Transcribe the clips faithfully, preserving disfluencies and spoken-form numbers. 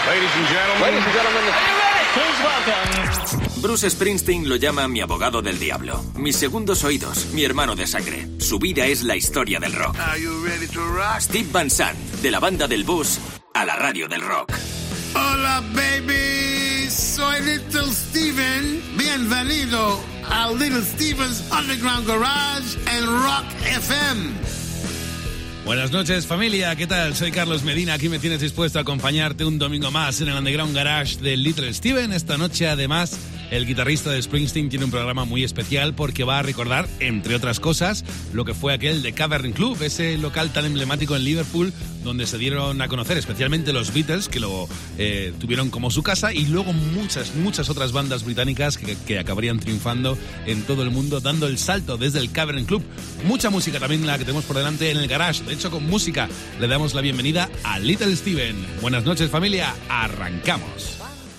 Ladies and gentlemen. Ladies and gentlemen. Are you ready? Please welcome. Bruce Springsteen lo llama mi abogado del diablo, mis segundos oídos, mi hermano de sangre. Su vida es la historia del rock. Are you ready to rock? Steve Van Sant, de la banda del bus a la radio del rock. Hola, baby. Soy Little Steven. Bienvenido a Little Steven's Underground Garage en Rock F M. Buenas noches, familia, ¿qué tal? Soy Carlos Medina, aquí me tienes dispuesto a acompañarte un domingo más en el Underground Garage de Little Steven. Esta noche, además, el guitarrista de Springsteen tiene un programa muy especial porque va a recordar, entre otras cosas, lo que fue aquel de Cavern Club, ese local tan emblemático en Liverpool, donde se dieron a conocer especialmente los Beatles, que lo eh, tuvieron como su casa, y luego muchas, muchas otras bandas británicas que, que acabarían triunfando en todo el mundo, dando el salto desde el Cavern Club. Mucha música también la que tenemos por delante en el garage. De hecho, con música le damos la bienvenida a Little Steven. Buenas noches, familia. Arrancamos.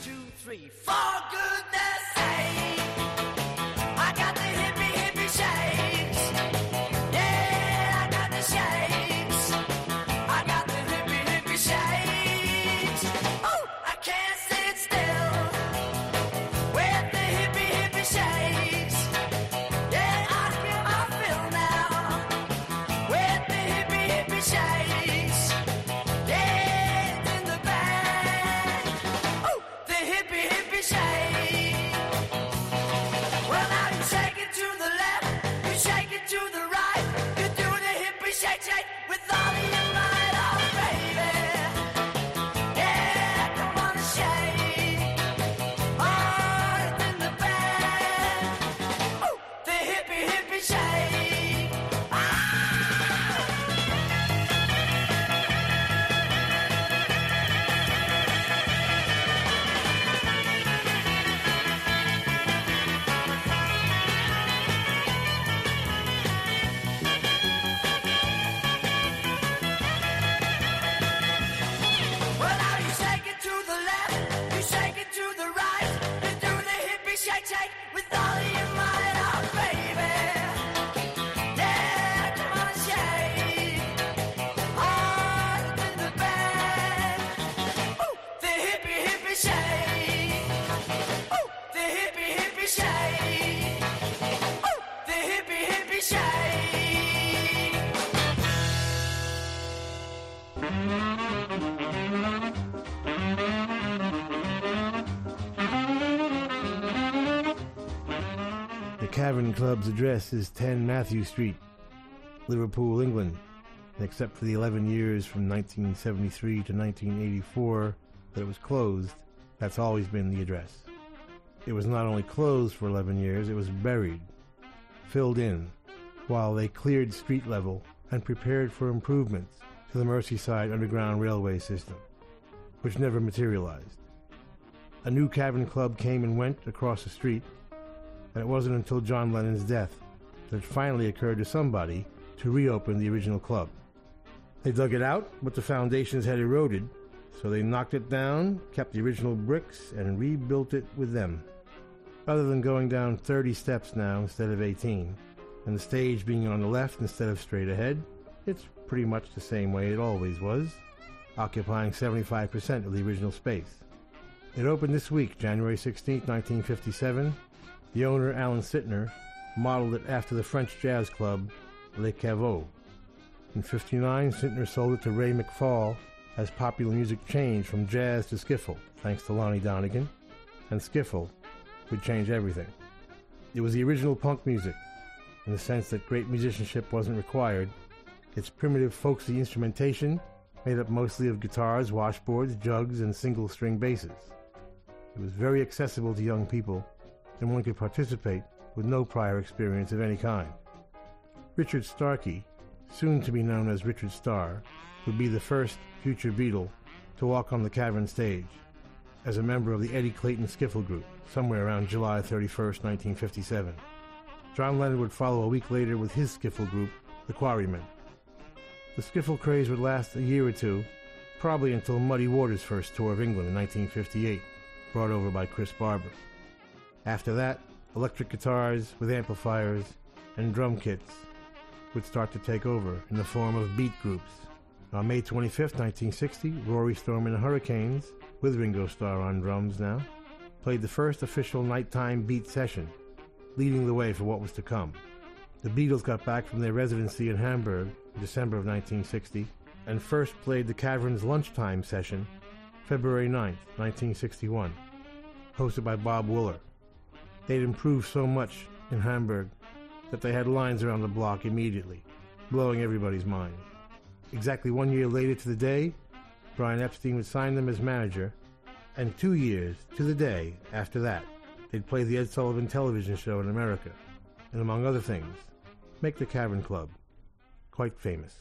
Cavern Club's address is ten Matthew Street, Liverpool, England. And except for the eleven years from nineteen seventy-three to nineteen eighty-four that it was closed, that's always been the address. It was not only closed for eleven years, it was buried, filled in, while they cleared street level and prepared for improvements to the Merseyside Underground Railway system, which never materialized. A new Cavern Club came and went across the street, and it wasn't until John Lennon's death that it finally occurred to somebody to reopen the original club. They dug it out, but the foundations had eroded, so they knocked it down, kept the original bricks, and rebuilt it with them. Other than going down thirty steps now instead of eighteen, and the stage being on the left instead of straight ahead, it's pretty much the same way it always was, occupying seventy-five percent of the original space. It opened this week, January sixteenth, nineteen fifty-seven. The owner, Alan Sittner, modeled it after the French jazz club Le Caveau. In fifty-nine, Sittner sold it to Ray McFall as popular music changed from jazz to skiffle, thanks to Lonnie Donegan, and skiffle would change everything. It was the original punk music, in the sense that great musicianship wasn't required. Its primitive, folksy instrumentation, made up mostly of guitars, washboards, jugs, and single-string basses. It was very accessible to young people, and one could participate with no prior experience of any kind. Richard Starkey, soon to be known as Richard Starr, would be the first future Beatle to walk on the Cavern stage as a member of the Eddie Clayton Skiffle Group, somewhere around July thirty-first, nineteen fifty-seven. John Lennon would follow a week later with his skiffle group, the Quarrymen. The skiffle craze would last a year or two, probably until Muddy Waters' first tour of England in nineteen fifty-eight, brought over by Chris Barber. After that, electric guitars with amplifiers and drum kits would start to take over in the form of beat groups. On May twenty-fifth, nineteen sixty, Rory Storm and the Hurricanes, with Ringo Starr on drums now, played the first official nighttime beat session, leading the way for what was to come. The Beatles got back from their residency in Hamburg in December of nineteen sixty and first played the Caverns' lunchtime session February ninth, nineteen sixty-one, hosted by Bob Wooler. They'd improved so much in Hamburg that they had lines around the block immediately, blowing everybody's mind. Exactly one year later to the day, Brian Epstein would sign them as manager, and two years to the day after that, they'd play the Ed Sullivan television show in America, and among other things, make the Cavern Club quite famous.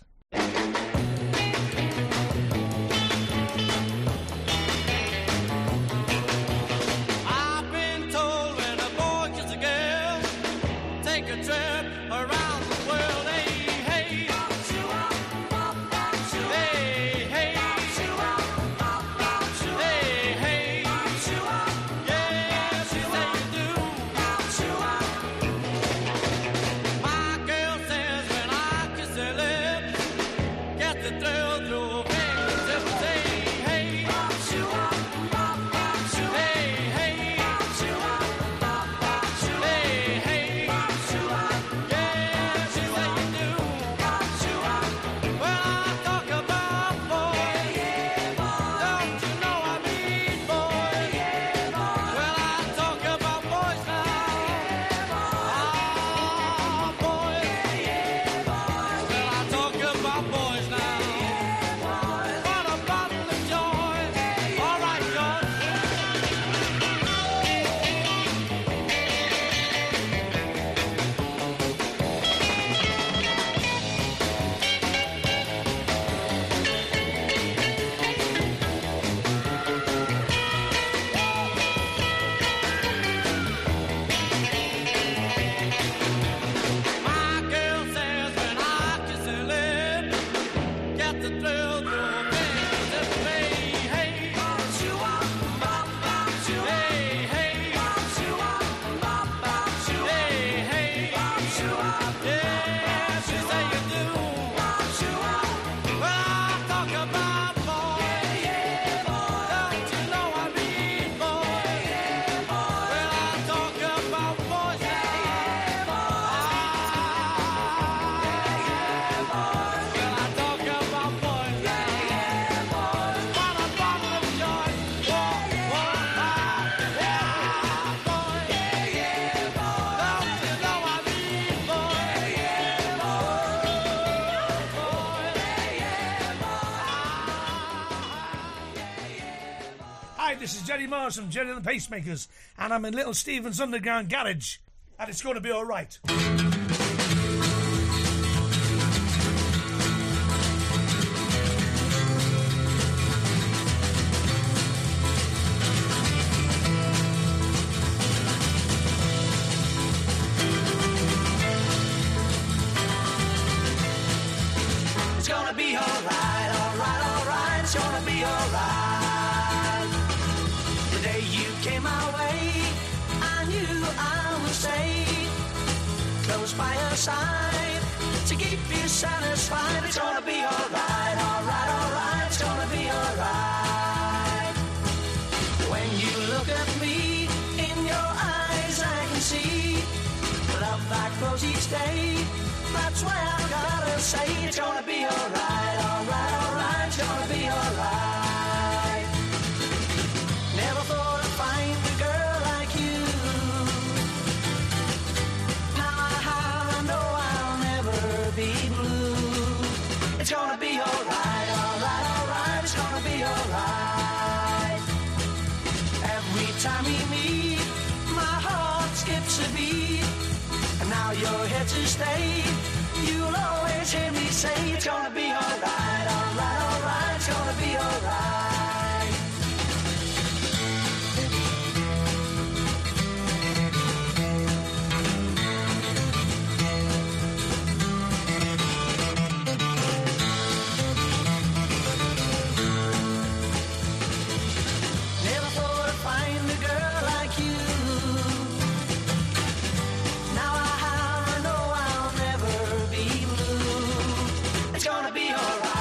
This is Jerry Morris from Jerry and the Pacemakers, and I'm in Little Steven's Underground Garage, and it's going to be all right. It's gonna be all right, all right, all right. It's gonna be all right. Came my way, I knew I would stay close by your side to keep you satisfied. It's gonna be alright, alright, alright. It's gonna be alright. When you look at me, in your eyes I can see love that grows each day. That's why I've gotta say it's gonna be alright, alright, alright. It's gonna be alright. Never thought find a girl like you. Now I know I'll never be blue. It's gonna be alright, alright, alright. It's gonna be alright. Every time we meet, my heart skips a beat. And now you're here to stay. You'll always hear me say it's gonna be alright, alright, alright. It's gonna be alright. It's gonna be alright.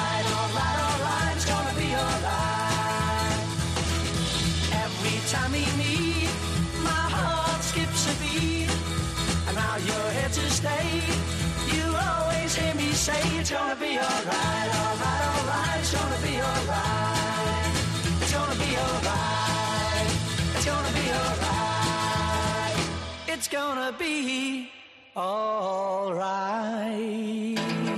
It's gonna be alright, alright, alright. It's gonna be alright. It's gonna be alright. It's gonna be alright. It's gonna be alright.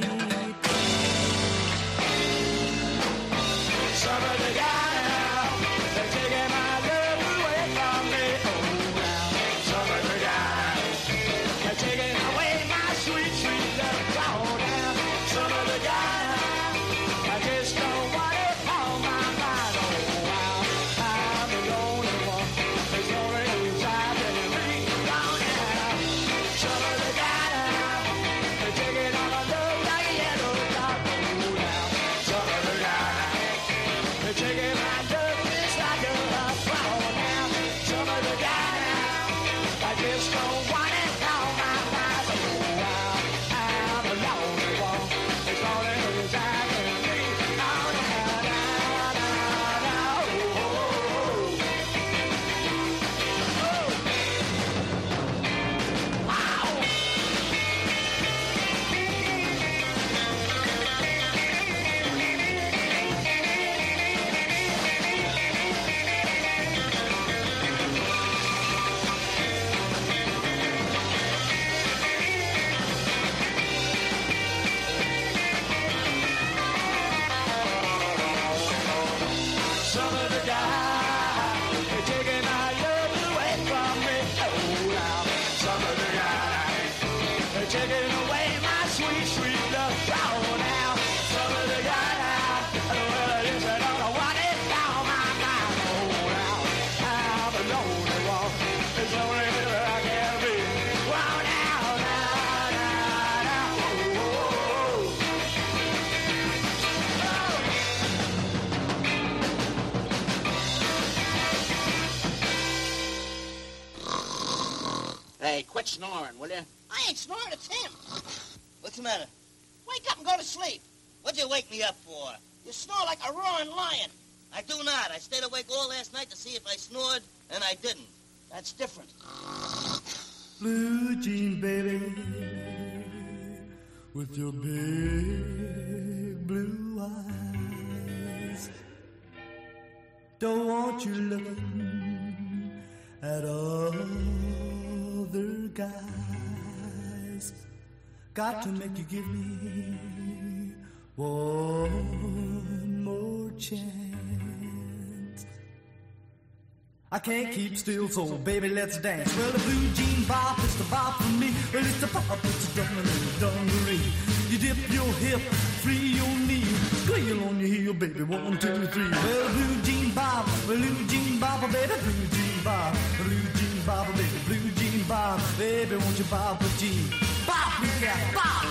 Some of the guys now, they're taking my love away from me. Oh, now, some of the guys, they're taking away my sweet, sweet love. Oh, now, some of the guys, I just don't want it on my mind. Oh, wow, I'm the only one that's only inside of me. Oh, now, some of the guys, they're taking all my love like a yellow dog. Oh, now, some of the guys, they're taking my love just like a flower now. Some of the guys, I just don't want it on my mind. Oh, wow, I'm the lonely one. It's only inside of me. Oh, now, now, now, now, oh, oh, oh. Wow. Some of the guys, they're taking my love away from me. Oh, now, some of the guys, they're taking away my sweet, sweet love. Oh, now, some of the guys, well, it is, I don't want it down my mind. Oh, now, I'm the lonely one. It's only that I can be. Wow, now, now, now, now, oh, oh, oh. Hey, quit snoring, will you? I ain't snoring, it's him. What's the matter? Wake up and go to sleep. What'd you wake me up for? You snore like a roaring lion. I do not. I stayed awake all last night to see if I snored, and I didn't. That's different. Blue jean baby, with your big blue eyes. Don't want you looking at other guys. Got to make you give me one more chance. I can't keep still, so baby, let's dance. Well, the blue jean bop is the bop for me. Well, it's the bop, it's the dungaree, dungaree. You dip your hip, free your knee, squeal on your heel, baby, one, two, three. Well, blue jean bop, blue jean bop, baby, blue jean bop, blue jean bop, baby, blue jean bop, baby, won't you bop a jean? Bop me, yeah, bop!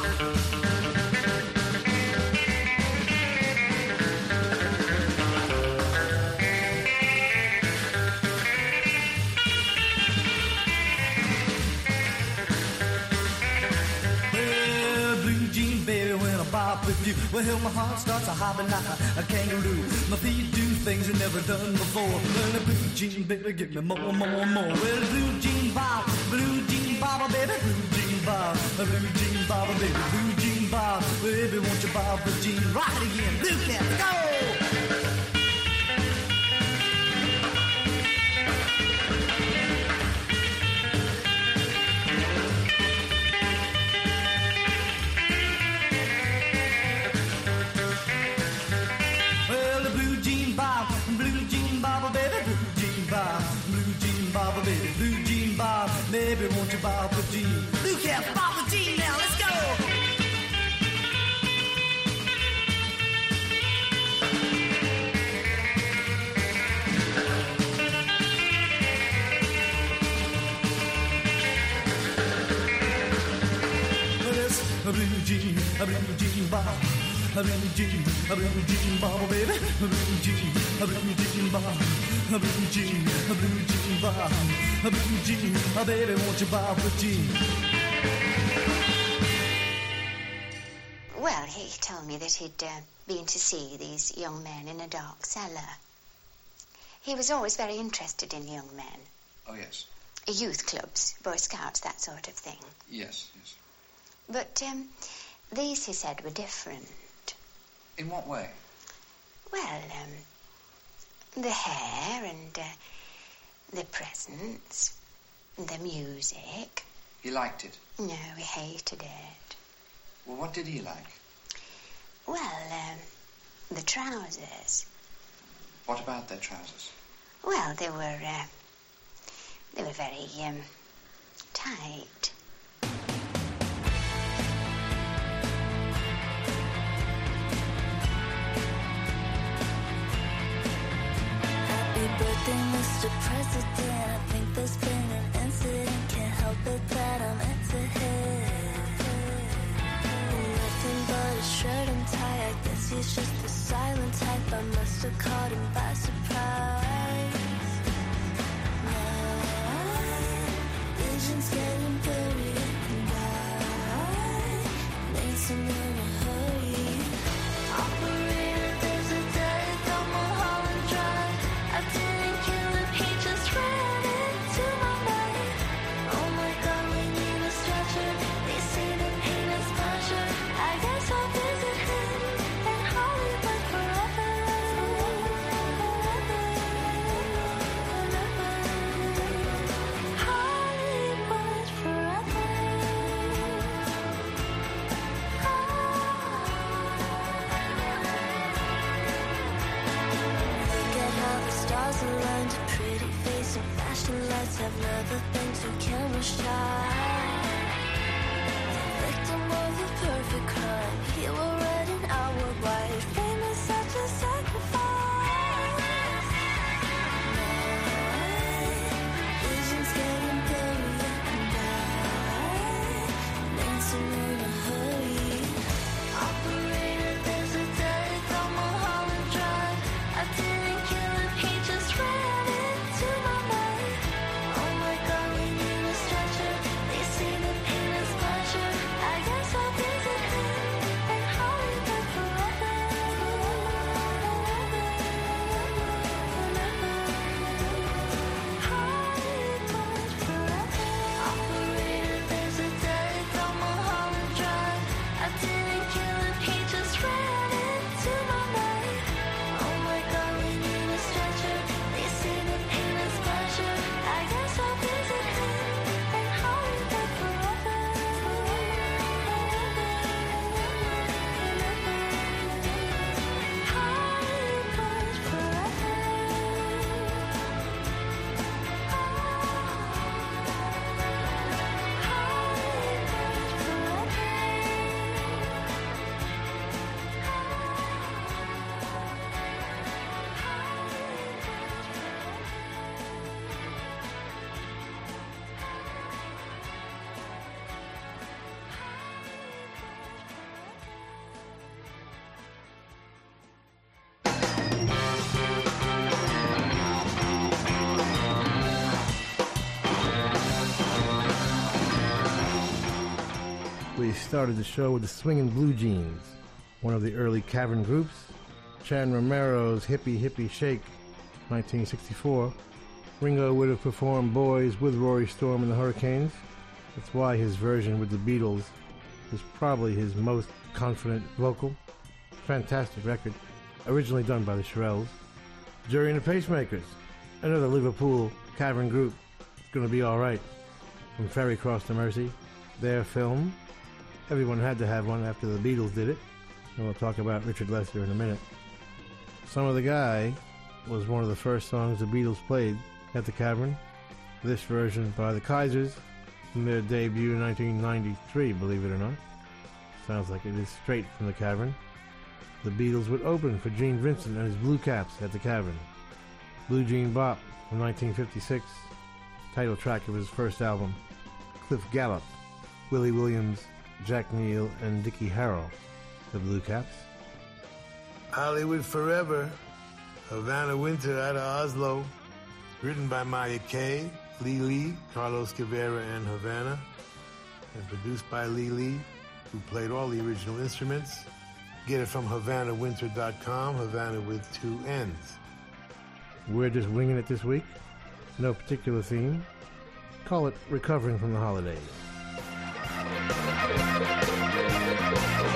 With you, well, my heart starts a hopping like a, a kangaroo. My feet do things I've never done before. Well, the blue jean, baby, give me more, more, more. Well, the blue jean bob, blue jean bob, baby, blue jean bob, blue jean bob, baby, blue jean bob, baby, won't you bob the jean? Rock it again, blue cat, go! Baby, won't you bob the jean? Blue cat, bob the jean now, let's go! A blue jean, a blue jean bob, a blue jean, a blue jean bob, baby, a blue jean, a blue jean bob, a blue jean, a blue jean bob, a blue jean, a baby, won't you bob the jean? Well, he told me that he'd uh, been to see these young men in a dark cellar. He was always very interested in young men. Oh, yes. Youth clubs, Boy Scouts, that sort of thing. Yes, yes. But um, these, he said, were different. In what way? Well, um, the hair and uh, the presents, the music. He liked it? No, he hated it. Well, what did he like? Well, um, the trousers. What about their trousers? Well, they were, uh, they were very, um, tight. Happy birthday, Mister President. I think there's been an incident. Can't help it that I'm into him. Nothing but a shirt and tie. I guess he's just a silent type. I must have caught him by surprise. My vision's getting blurry, and I need some in a hurry. Operator, there's a dead on Mulholland Drive. I didn't kill him, he just ran into my mind. Oh my God, we need a stretcher. They say the pain is pleasure. I guess I'll visit him in Hollywood forever. Hollywood forever. Look at how the stars aligned. A pretty face and flashing lights have never been too camera shy. The victim of a perfect crime. He will read an hour wide. Fame is such a sacrifice. My vision's getting blurry, and I need some in a hurry. Operator, there's a dead on Mulholland Drive. I didn't kill him, he just ran into my mind. Oh my God, we need a stretcher. They say the pain is pleasure. I guess I'll visit him in Hollywood forever. Hollywood forever. Operator, there's a dead on Mulholland Drive. I didn't kill him, he just ran into my mind. Oh my God, we need a stretcher. They say the pain is pleasure. I guess I'll visit him in Hollywood forever. Hollywood We started the show with the Swingin' Blue Jeans, one of the early Cavern groups. Chan Romero's Hippie Hippie Shake, nineteen sixty-four. Ringo would have performed Boys with Rory Storm and the Hurricanes. That's why his version with the Beatles is probably his most confident vocal. Fantastic record, originally done by the Shirelles. Jury and the Pacemakers, another Liverpool Cavern group. It's gonna be alright. From Ferry Cross to Mercy, their film. Everyone had to have one after the Beatles did it. And we'll talk about Richard Lester in a minute. Some of the Guy was one of the first songs the Beatles played at the Cavern. This version by the Kaisers from their debut in nineteen ninety-three, believe it or not. Sounds like it is straight from the Cavern. The Beatles would open for Gene Vincent and his Blue Caps at the Cavern. Blue Jean Bop from nineteen fifty-six, title track of his first album. Cliff Gallup, Willie Williams, Jack Neal, and Dickie Harrell, the Blue Caps. Hollywood Forever, Havana Winter out of Oslo, written by Maya Kay, Lee Lee, Carlos Guevara, and Havana, and produced by Lee Lee, who played all the original instruments. Get it from Havana Winter dot com, Havana with two N's. We're just winging it this week. No particular theme. Call it Recovering from the Holidays.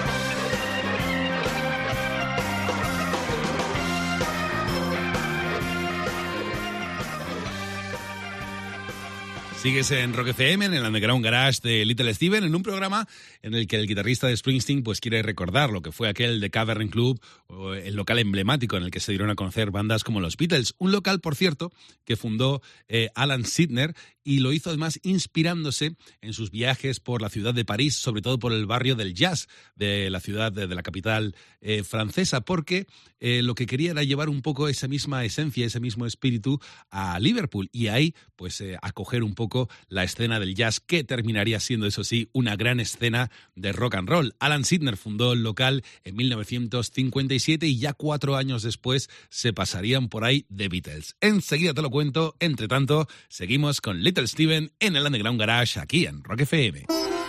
Sigues en Rock F M, en el Underground Garage de Little Steven, en un programa en el que el guitarrista de Springsteen pues quiere recordar lo que fue aquel The Cavern Club, o el local emblemático en el que se dieron a conocer bandas como los Beatles. Un local, por cierto, que fundó eh, Alan Sidner, y lo hizo además inspirándose en sus viajes por la ciudad de París, sobre todo por el barrio del jazz de la ciudad, de, de la capital eh, francesa, porque eh, lo que quería era llevar un poco esa misma esencia, ese mismo espíritu a Liverpool, y ahí pues eh, acoger un poco la escena del jazz, que terminaría siendo, eso sí, una gran escena de rock and roll. Alan Sidner fundó el local en mil novecientos cincuenta y siete y ya cuatro años después se pasarían por ahí The Beatles. Enseguida te lo cuento. Entre tanto, seguimos con Little Steven en el Underground Garage, aquí en Rock F M.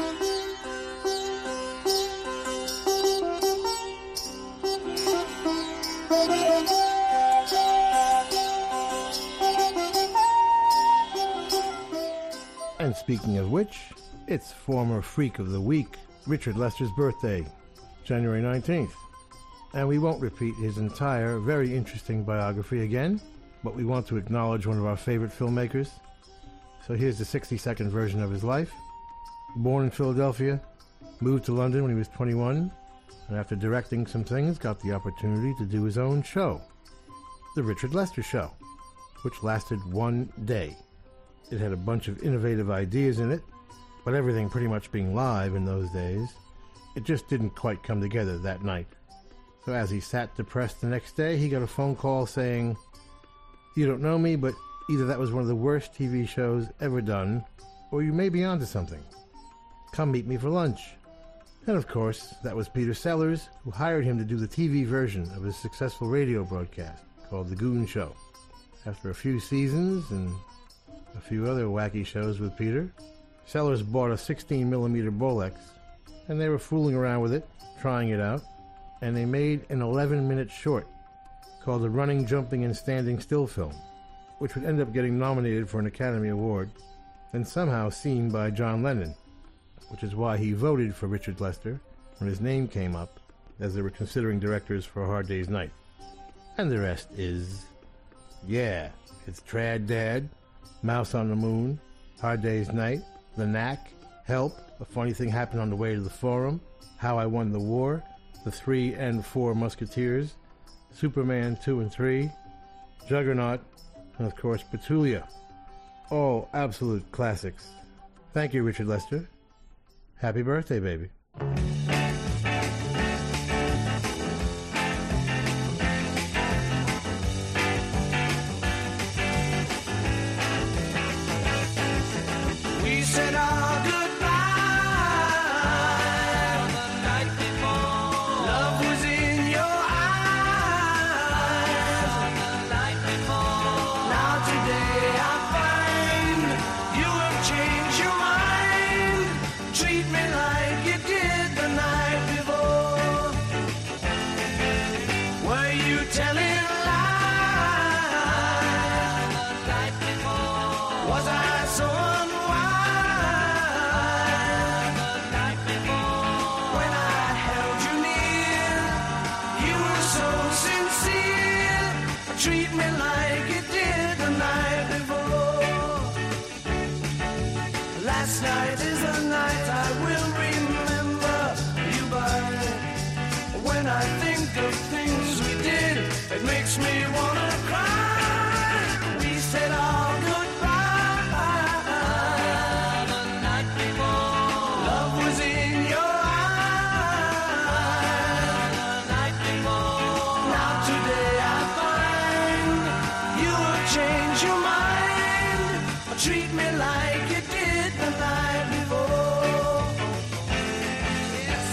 And speaking of which, it's former Freak of the Week, Richard Lester's birthday, January nineteenth. And we won't repeat his entire, very interesting biography again, but we want to acknowledge one of our favorite filmmakers. So here's the sixty-second version of his life. Born in Philadelphia, moved to London when he was twenty-one, and after directing some things, got the opportunity to do his own show, The Richard Lester Show, which lasted one day. It had a bunch of innovative ideas in it, but everything pretty much being live in those days, it just didn't quite come together that night. So as he sat depressed the next day, he got a phone call saying, "You don't know me, but either that was one of the worst T V shows ever done, or you may be onto something. Come meet me for lunch." And of course, that was Peter Sellers, who hired him to do the T V version of his successful radio broadcast called The Goon Show. After a few seasons and a few other wacky shows with Peter, Sellers bought a sixteen millimeter Bolex, and they were fooling around with it, trying it out, and they made an eleven minute short called The Running, Jumping, and Standing Still Film, which would end up getting nominated for an Academy Award, and somehow seen by John Lennon, which is why he voted for Richard Lester when his name came up, as they were considering directors for A Hard Day's Night. And the rest is, yeah, it's Trad Dad, Mouse on the Moon, Hard Day's Night, The Knack, Help, A Funny Thing Happened on the Way to the Forum, How I Won the War, The Three and Four Musketeers, Superman two and three, Juggernaut, and of course Petulia. All absolute classics. Thank you, Richard Lester. Happy birthday, baby. We said our goodbye the night before. Love was in your eyes the night before. Now today I find you have changed your mind. Treat me like you did the night before. Were you telling lies the night before? Was I so treat me like you did the night before. Last night is the night I will remember you by. When I think of things we did, it makes me wanna cry. We said our goodbye the night before. Love was in your eyes the night before. Now today I change your mind, treat me like you did the night before. Yes.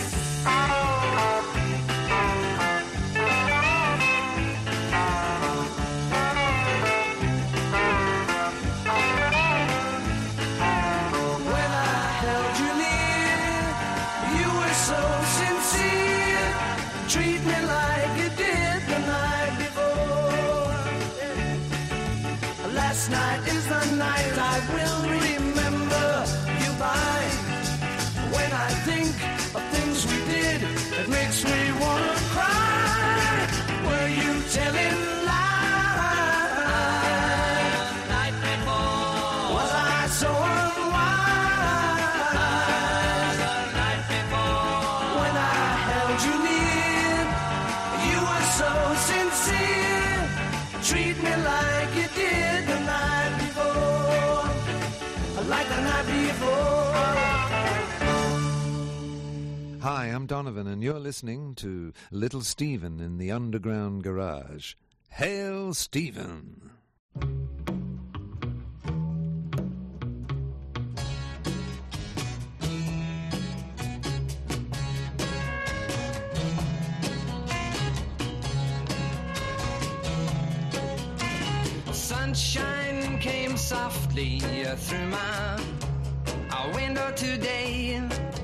When I held you near, you were so sincere, treat me like you did the night before. Last night is the night I will remember you by. When I think of things we did, it makes me wanna cry. Were you telling lies the night before? Was I so treat me like you did the night before, like the night before. Hi, I'm Donovan, and you're listening to Little Stephen in the Underground Garage. Hail, Stephen! Sunshine came softly through my window today.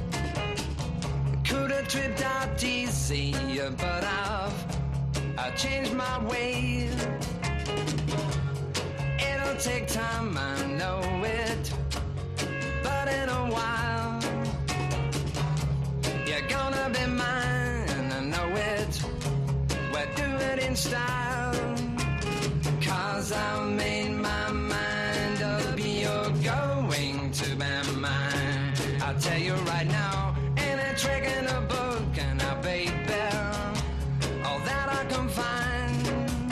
Could have tripped out easy, but I've I changed my way. It'll take time, I know it, but in a while you're gonna be mine, I know it. We'll do it in style, 'cause I made my mind up, you're going to be mine. I'll tell you right now, ain't a trick in a book, and I baby, all that I can find.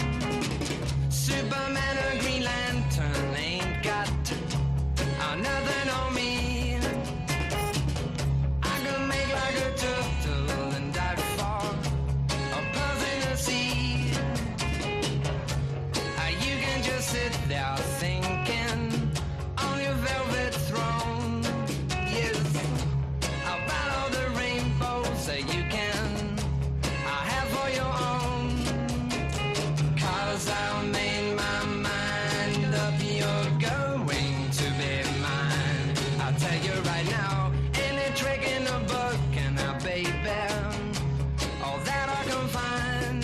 Superman or Green Lantern ain't got uh, nothing on me. I can make like a turtle and dive for a buzz in the sea. Uh, you can just sit there thinking on your velvet throne. Yes, about all the rainbows that you can I have for your own. 'Cause I made my mind up, you're going to be mine. I'll tell you right now, any trick in the book, and I baby, all that I can find.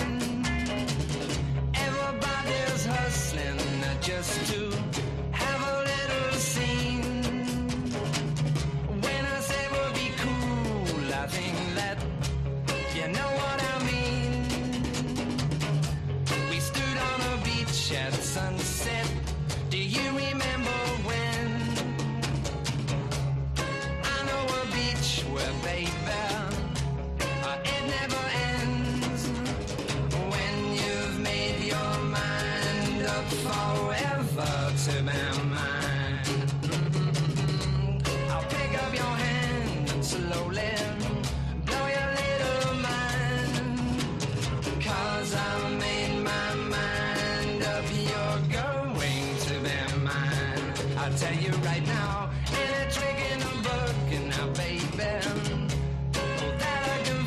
Everybody's hustling just to have a little scene. When I say we'll be cool, I think that you know what I mean. We stood on a beach at sunset. Do you remember when? I know a beach where, baby, uh, it never ends. When you've made your mind up forever to be mine. Mm-hmm. I'll pick up your hand and slowly blow your little mind. 'Cause I made my mind up, you're going to be mine. I'll tell you right now, any trick in a book, and now baby, all that I can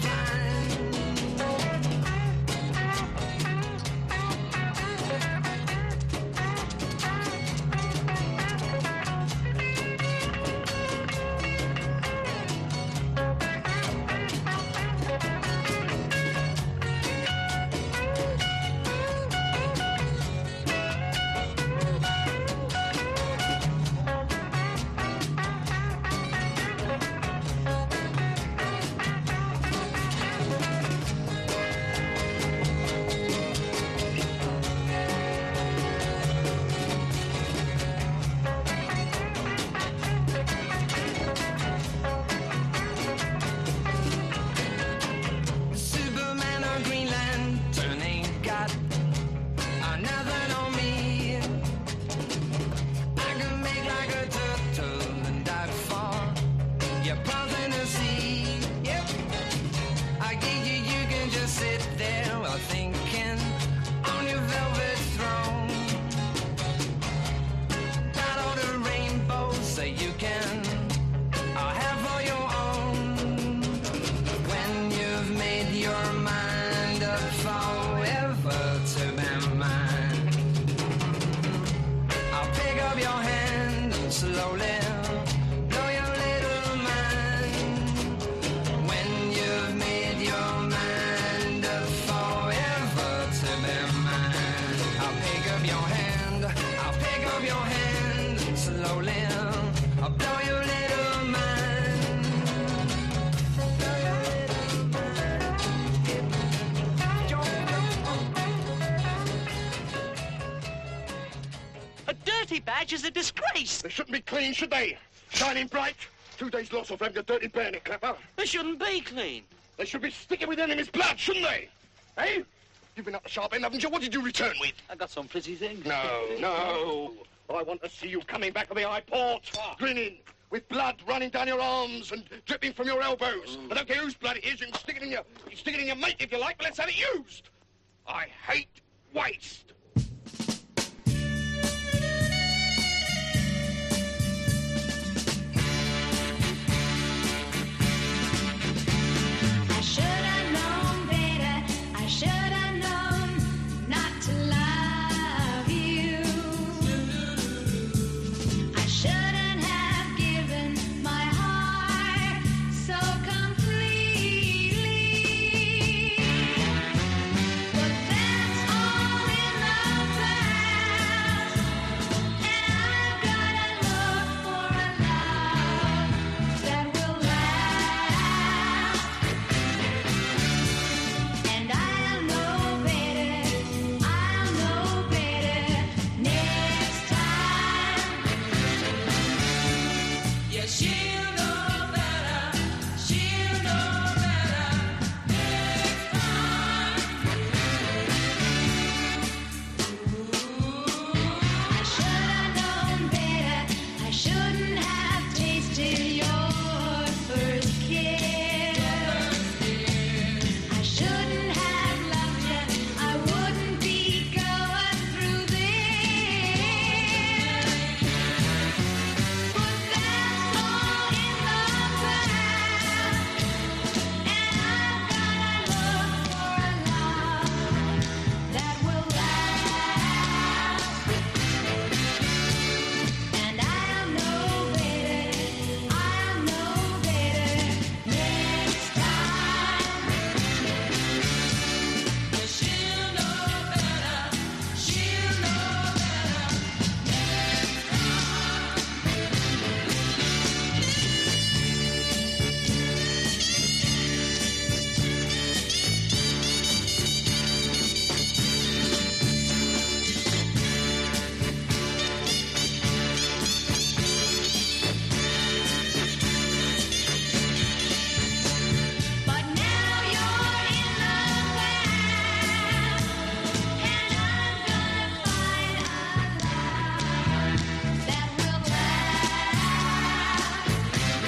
Superman or Green Lantern ain't got uh, nothing on me. I can make like a turtle and dive for your paws in the sea. Yep, I give you, you can just sit there while thinking on your velvet throne. Got all the rainbows that you can uh, have for your own. When you've made your mind up forever to be mine, I'll pick up your hand and slowly blow your little mind. When you've made your mind up forever to be mine, I'll pick up your hand, I'll pick up your hand and slowly I'll blow your little mind. Blow your little mind. A dirty badge is a disgrace. They shouldn't be clean, should they? Shining bright. Two days loss of having a dirty bayonet clapper. They shouldn't be clean. They should be sticking with enemy's blood, shouldn't they? Eh? You've been up the sharp end, haven't you? What did you return with? I got some pretty things. No, no. I want to see you coming back of the high port, grinning, with blood running down your arms and dripping from your elbows. I don't care whose blood it is. You can stick it in your, you can stick it in your mate if you like, but let's have it used. I hate waste. I should have known better. I should have known not to love you. I shouldn't have given my heart so completely. But that's all in the past, and I've gotta look for a love that will last. And I'll know better, I'll know better next time. Yeah, she'll know better, she'll know better next time. I should have known better, I shouldn't have tasted your first kiss. I shouldn't have loved you, I wouldn't be going through this. But that's all in the past, and I've gotta look for a love that will last. And I'll know better, I'll know better next time. Yeah, she'll know better, she'll know better next But now you're in the past, and I'm gonna find a love that will last.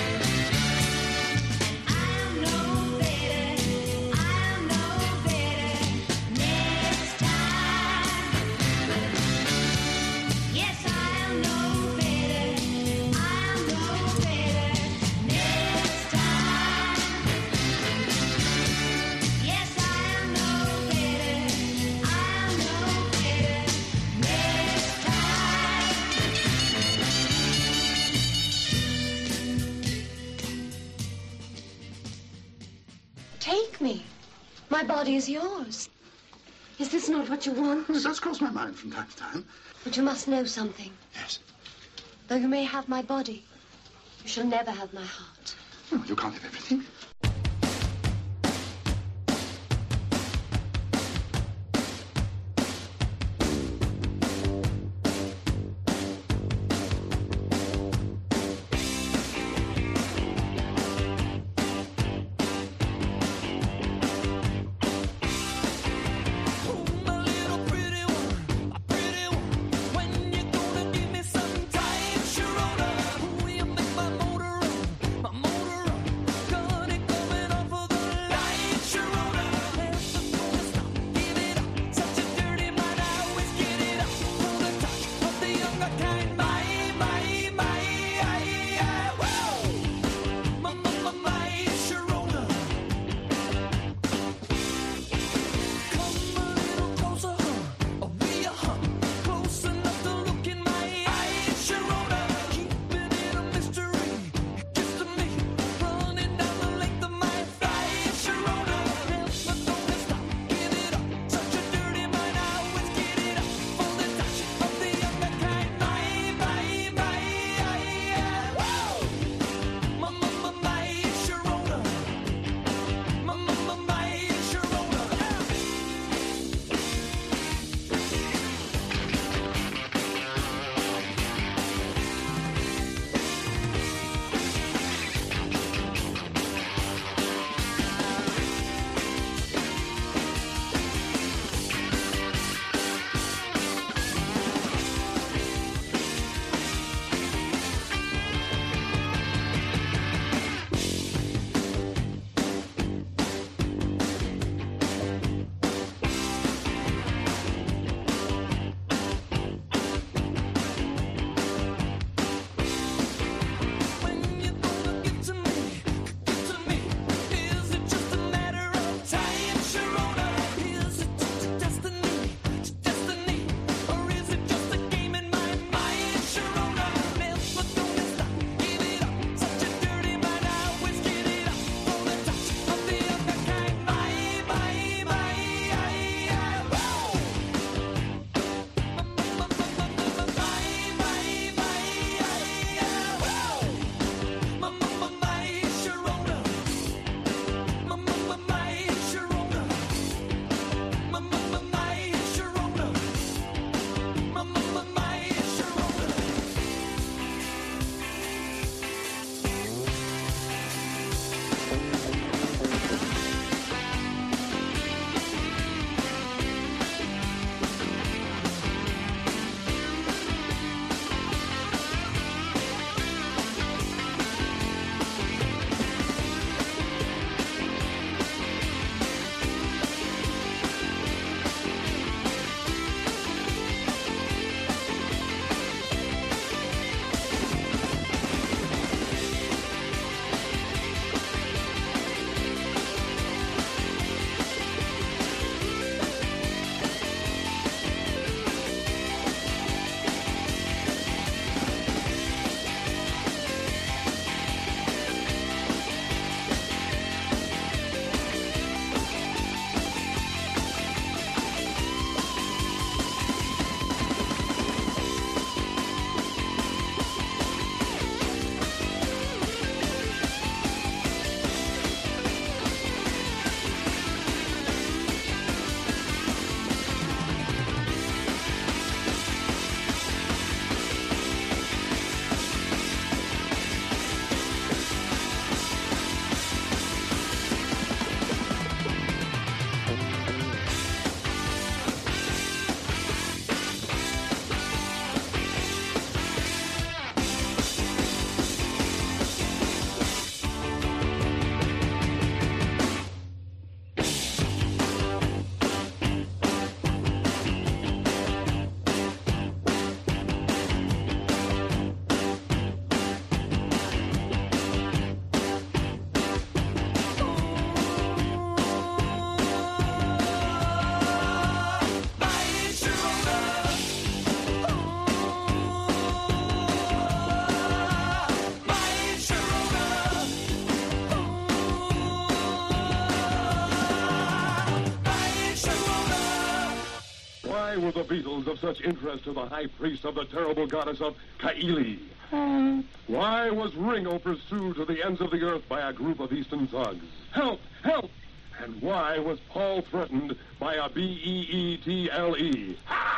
And I'll know better, I'll know better next time. Yes, I'll know better, I'll know better next time. Yes, I'll know better, I'll know better next time. Take me. My body is yours. Is this not what you want? It does cross my mind from time to time. But you must know something. Yes. Though you may have my body, you shall never have my heart. Oh, you can't have everything. When you gonna give me some time, Sharona? Will you make my motor run? My motor run. Gonna the Beatles of such interest to the high priest of the terrible goddess of Kaili? Why was Ringo pursued to the ends of the earth by a group of Eastern thugs? Help! Help! And why was Paul threatened by a B E E T L E?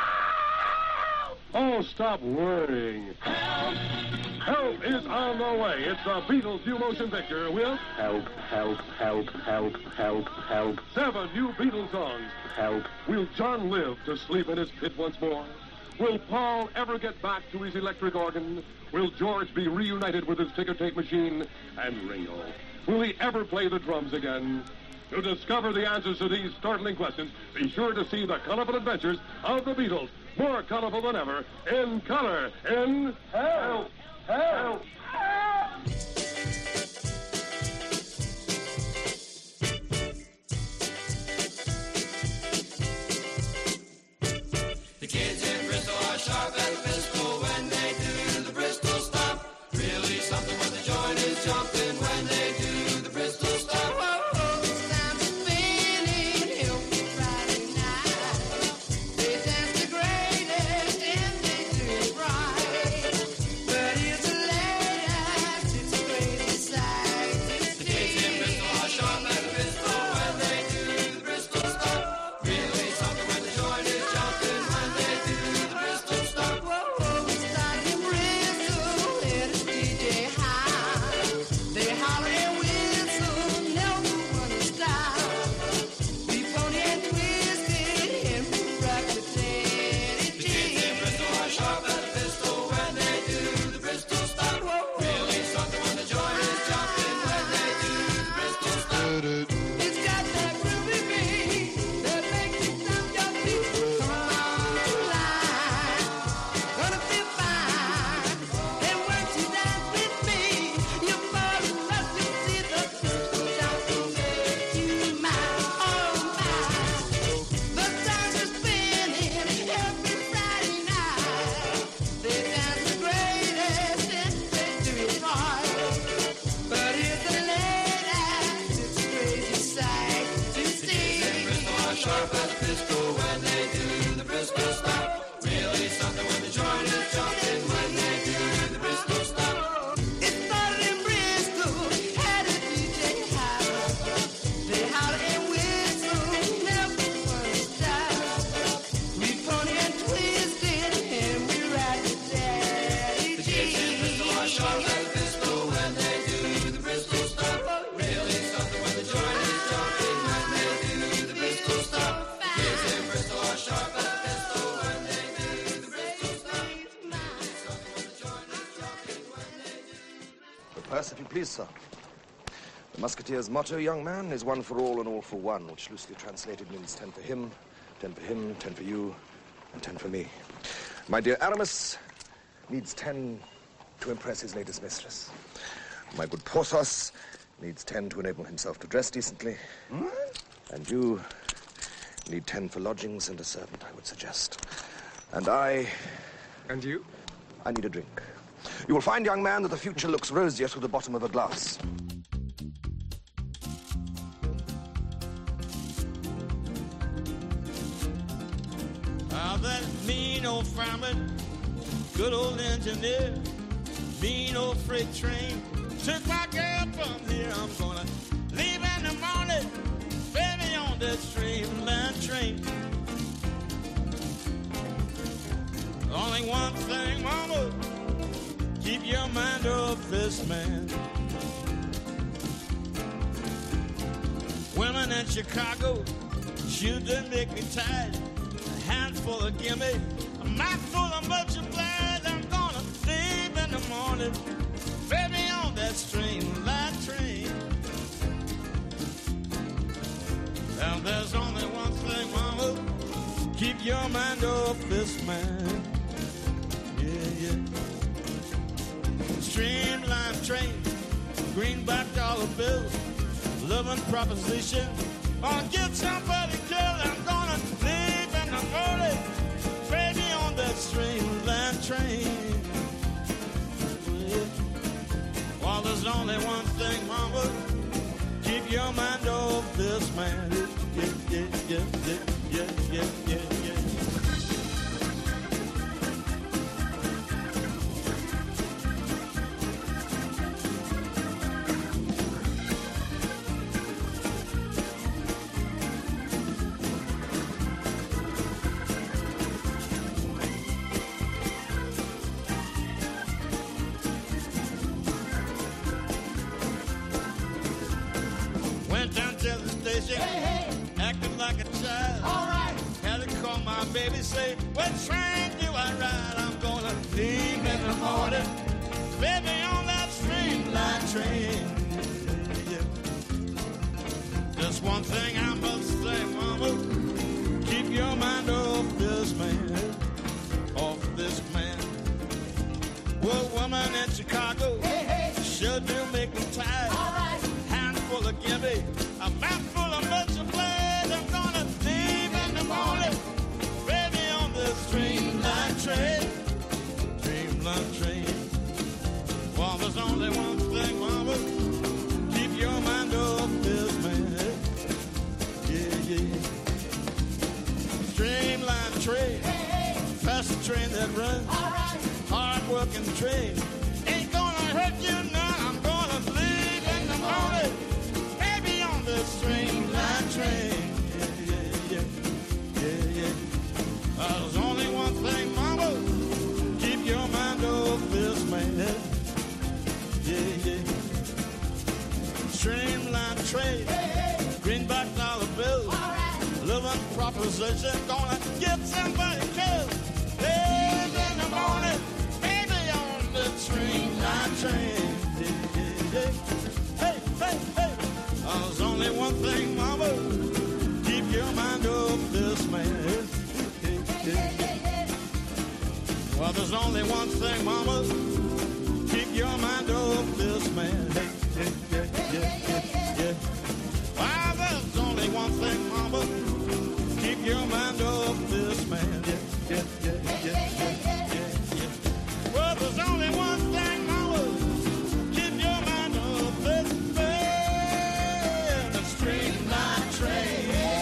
Oh, stop worrying. Help! Help is on the way. It's the Beatles new motion picture with Help, Help, Help, Help, Help, Help. Seven new Beatles songs. Help. Will John live to sleep in his pit once more? Will Paul ever get back to his electric organ? Will George be reunited with his ticker tape machine? And Ringo, will he ever play the drums again? To discover the answers to these startling questions, be sure to see the colorful adventures of the Beatles, more colorful than ever, in color, in Help! Help! Help! The kids in Bristol are sharp as a pistol when they do the Bristol stop. Really something when the joint is jumping when they do the Bristol stop. Whoa, whoa, it's time to spin it, help me Friday night. They dance the greatest and they do it right. But it's a late act, it's a crazy sight. The kids in Bristol are sharp as a pistol when they do the Bristol stop. Really something when the joint is jumping when they do the Bristol stop. Whoa, whoa, it's like in Bristol, let us D J high. They holler and whistle, never wanna stop. We pony and twist it and we rock the daddy. The kids in Bristol are sharp as a pistol when they do the Bristol stop. Really something when the joint is jumping when they do the Bristol stop. It's got that groovy beat that makes you stomp your feet. Come on, line, gonna feel fine. And once you dance with me, you fall in love. You see the Bristol shop will make you mine, oh mine. The stars are spinning every Friday night. They dance the greatest and they do it right. But it's a late act, it's a crazy sight to see. Bristol are sharp as a pistol when they do the Bristol stop. Really something when the joint is jumping when they do the Bristol stop. It started in Bristol, had a D J house. They holler and whistle, never wanna stop. We pony and twist it and we ride the daddy. The kids in Bristol are sharp as a pistol when they do the Bristol stop. Really something when the joint is jumping when they do the Bristol stop. Kids in Bristol are sharp as a pistol when they do the Bristol stop. Really something when the joint is jumping when they do. The purse, if you please, sir. The Musketeer's motto, young man, is one for all and all for one, which loosely translated means ten for him, ten for him, ten for you, and ten for me. My dear Aramis needs ten to impress his latest mistress. My good Porthos needs ten to enable himself to dress decently. And you need ten for lodgings and a servant, I would suggest. And I... And you? I need a drink. You will find, young man, that the future looks rosier through the bottom of a glass. Ah, that mean old fireman, good old engineer, mean old freight train, took my girl from here. I'm gonna leave in the morning, baby, on that streamline train. Only one thing, mama, keep your mind off this man. Women in Chicago, shoes that make me tired. A handful of gimme, a mouthful of multiplied. I'm gonna leave in the morning, baby, on that streamline train. Now there's only one thing, mama, keep your mind off this man. Yeah, yeah. Streamline train, greenback dollar bills, loving proposition. I'll get somebody killed. I'm gonna leave in the morning, baby, on that streamline train. Yeah. Well, there's only one thing, mama, keep your mind off this man. Yeah, yeah, yeah, yeah, yeah, yeah, yeah, yeah. fishing, acting like a child. All right. Had to call my baby, say, what train do I ride? I'm gonna leave in the morning, baby, on that streamline train. Yeah. Just one thing I must say, mama, keep your mind off this man, off this man. Well, woman in Chicago, hey, hey. Sure do make me tired. All right. Handful of gimme, a mouthful of much of blood. I'm gonna leave in the morning, baby, on this streamline train, streamline train. Well, there's only one thing, mama, keep your mind off this man. Yeah, yeah. Streamline train, hey, hey. Fast train that runs. All right. Hard-working train ain't gonna hurt you now. I'm gonna leave in the morning, baby, on this streamline train. Yeah, yeah, yeah, yeah, yeah. Uh, there's only one thing, mama, keep your mind off this man. Yeah, yeah. Streamline train, hey, hey. Greenback dollar bill, right. Living proposition, gonna get somebody killed. Live in the morning, streamline train. Yeah, yeah, yeah. Hey, hey, hey. Oh, there's only one thing, mama, keep your mind off this man. Yeah, yeah, yeah. Well, there's only one thing, mama, keep your mind off this man. Hey, yeah, yeah, yeah, yeah, yeah. Well, there's only one thing, mama, keep your mind off this man. Yeah, yeah, yeah, yeah, yeah, yeah. Well, there's only one thing, mama, keep your mind off this man, the streamline train.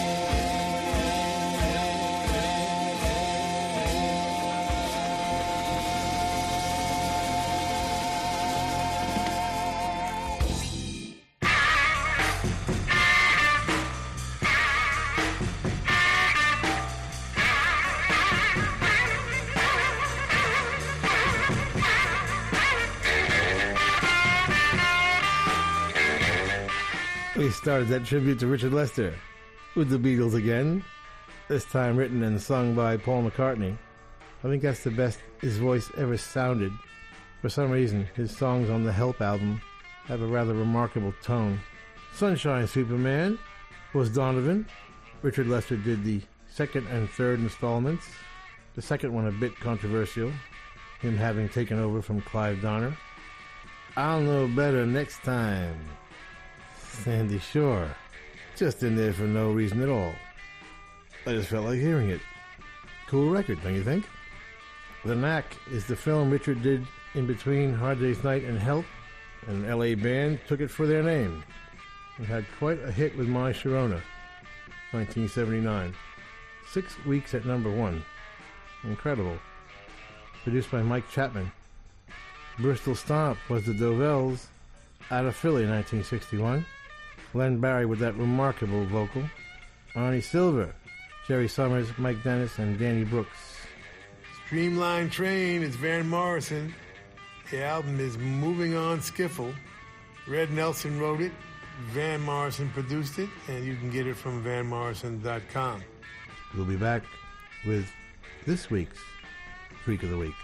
We started that tribute to Richard Lester with the Beatles again, this time written and sung by Paul McCartney. I think that's the best his voice ever sounded. For some reason, his songs on the Help album have a rather remarkable tone. Sunshine Superman was Donovan. Richard Lester did the second and third installments, the second one a bit controversial, him having taken over from Clive Donner. I'll Know Better Next Time. Sandy Shore, just in there for no reason at all. I just felt like hearing it. Cool record, don't you think? The Knack is the film Richard did in between Hard Day's Night and Help. An L A band took it for their name. It had quite a hit with My Sharona, nineteen seventy-nine. Six weeks at number one. Incredible. Produced by Mike Chapman. Bristol Stomp was the Dovells out of Philly, nineteen sixty-one. Len Barry with that remarkable vocal. Arnie Silver, Jerry Summers, Mike Dennis, and Danny Brooks. Streamline Train is Van Morrison. The album is Moving On Skiffle. Red Nelson wrote it. Van Morrison produced it, and you can get it from van morrison dot com. We'll be back with this week's Freak of the Week.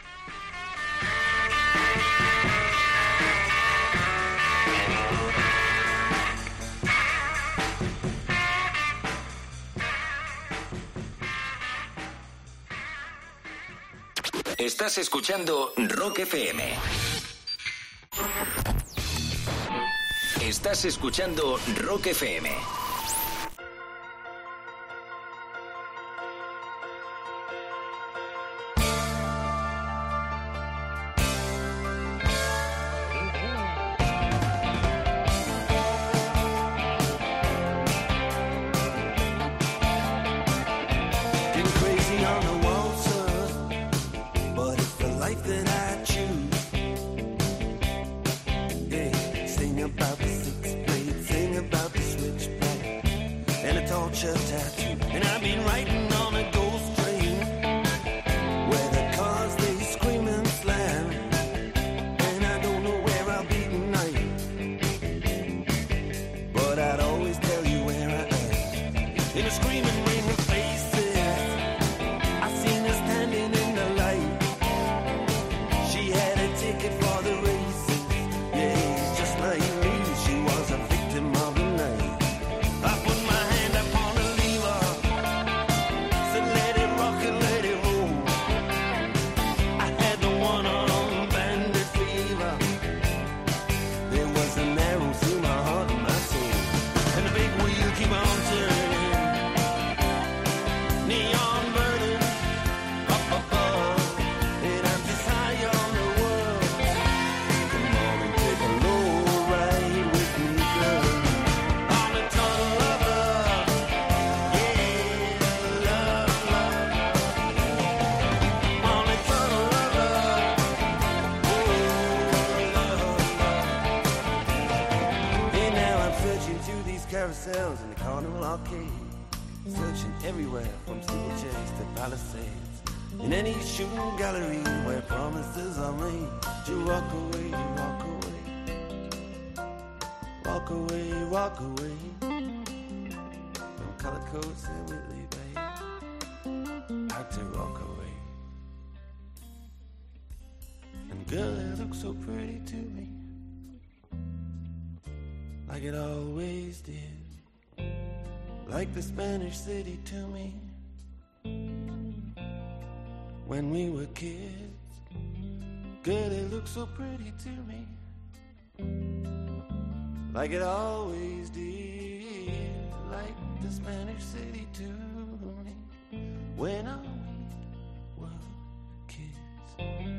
Estás escuchando Rock F M. Estás escuchando Rock F M. About the six blade, sing about the switchback. ourselves in the carnival arcade, searching everywhere from steeplechase to palisades. In any shooting gallery where promises are made, you walk away, you walk away, walk away, walk away. From color coats and Whitley Bay, had to walk away. And girl, it looks so pretty to me, like it always did, like the Spanish city to me when we were kids. Girl, it looks so pretty to me, like it always did, like the Spanish city to me when I were kids.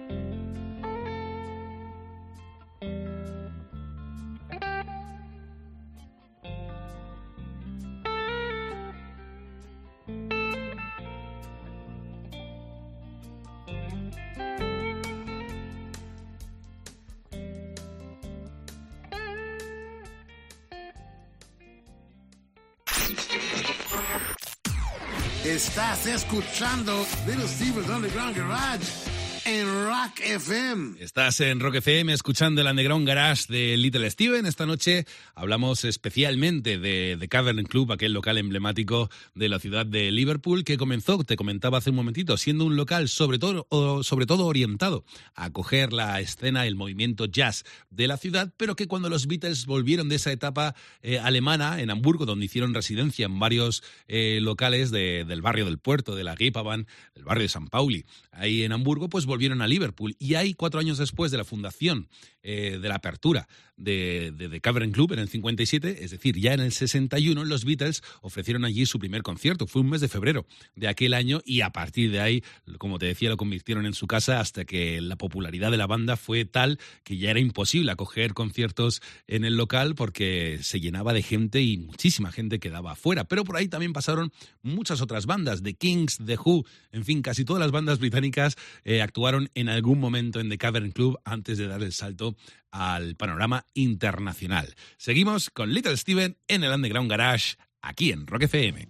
Estás escuchando Little Steven's Underground Garage en Rock F M. Estás en Rock F M escuchando el Underground Garage de Little Steven. Esta noche hablamos especialmente de The Cavern Club, aquel local emblemático de la ciudad de Liverpool, que comenzó, te comentaba hace un momentito, siendo un local sobre todo, sobre todo orientado a acoger la escena, el movimiento jazz de la ciudad, pero que cuando los Beatles volvieron de esa etapa eh, alemana en Hamburgo, donde hicieron residencia en varios eh, locales de, del barrio del Puerto, de la Reeperbahn, del barrio de San Pauli, ahí en Hamburgo, pues volvieron a Liverpool. Y ahí, cuatro años después de la fundación, eh, de la apertura de, de The Cavern Club en el cincuenta y siete, es decir, ya en el sesenta y uno, los Beatles ofrecieron allí su primer concierto. Fue un mes de febrero de aquel año y a partir de ahí, como te decía, lo convirtieron en su casa hasta que la popularidad de la banda fue tal que ya era imposible acoger conciertos en el local porque se llenaba de gente y muchísima gente quedaba afuera. Pero por ahí también pasaron muchas otras bandas, The Kings, The Who, en fin, casi todas las bandas británicas eh, actuaron en algún momento en The Cavern Club antes de dar el salto al panorama internacional. Seguimos con Little Steven en el Underground Garage, aquí en Rock F M.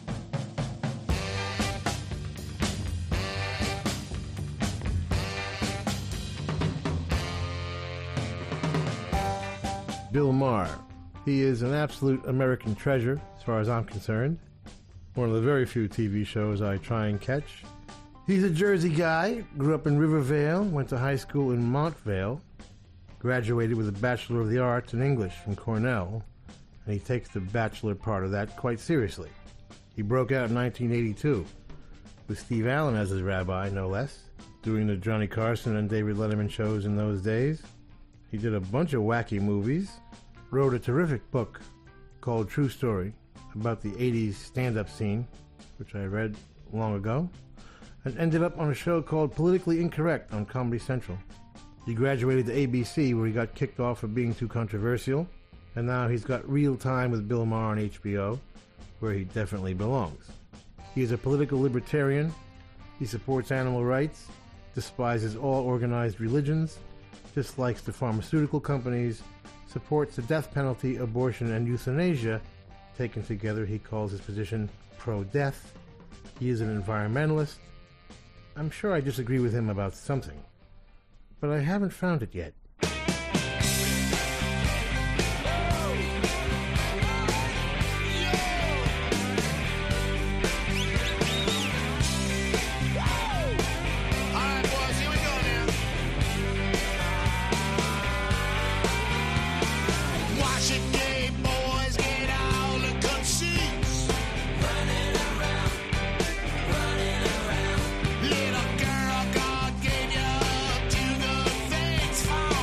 Bill Maher. He is an absolute American treasure, as far as I'm concerned. One of the very few T V shows I try and catch. He's a Jersey guy, grew up in Rivervale, went to high school in Montvale, graduated with a Bachelor of the Arts in English from Cornell, and he takes the bachelor part of that quite seriously. He broke out in nineteen eighty-two, with Steve Allen as his rabbi, no less, doing the Johnny Carson and David Letterman shows in those days. He did a bunch of wacky movies, wrote a terrific book called True Story about the eighties stand-up scene, which I read long ago, and ended up on a show called Politically Incorrect on Comedy Central. He graduated to A B C, where he got kicked off for being too controversial, and now he's got Real Time with Bill Maher on H B O, where he definitely belongs. He is a political libertarian. He supports animal rights, despises all organized religions, dislikes the pharmaceutical companies, supports the death penalty, abortion, and euthanasia. Taken together, he calls his position pro-death. He is an environmentalist. I'm sure I disagree with him about something, but I haven't found it yet. Little girl, God gave you to the things for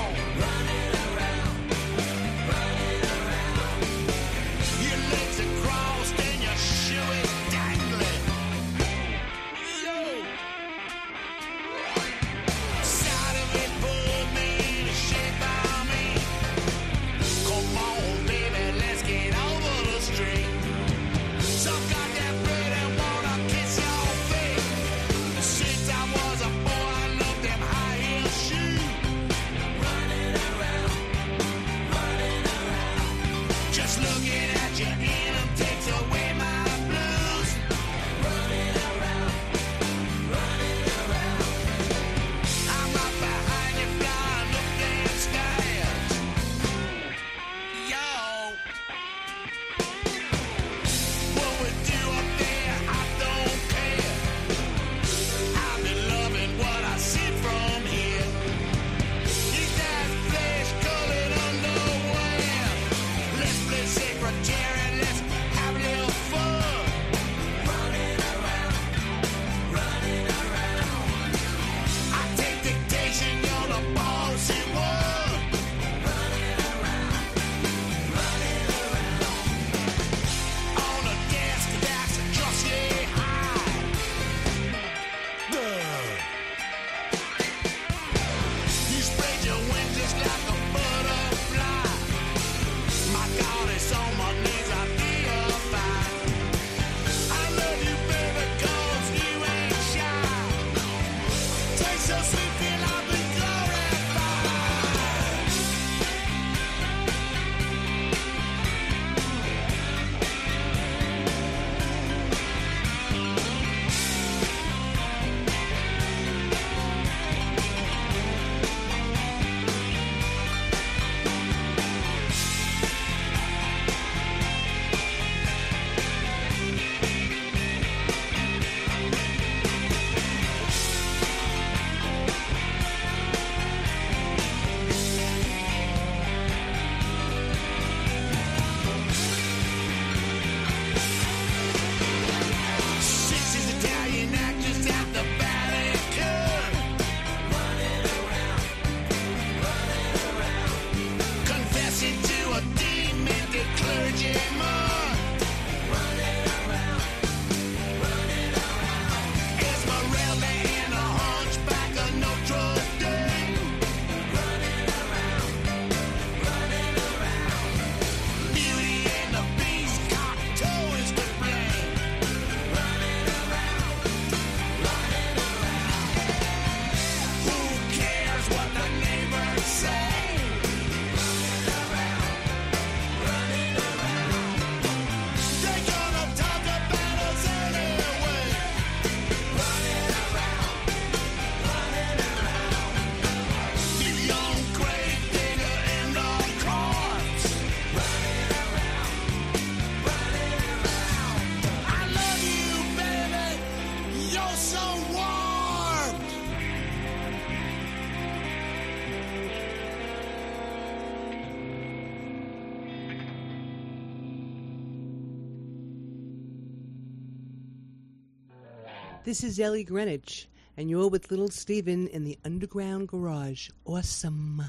This is Ellie Greenwich, and you're with Little Steven in the Underground Garage. Awesome.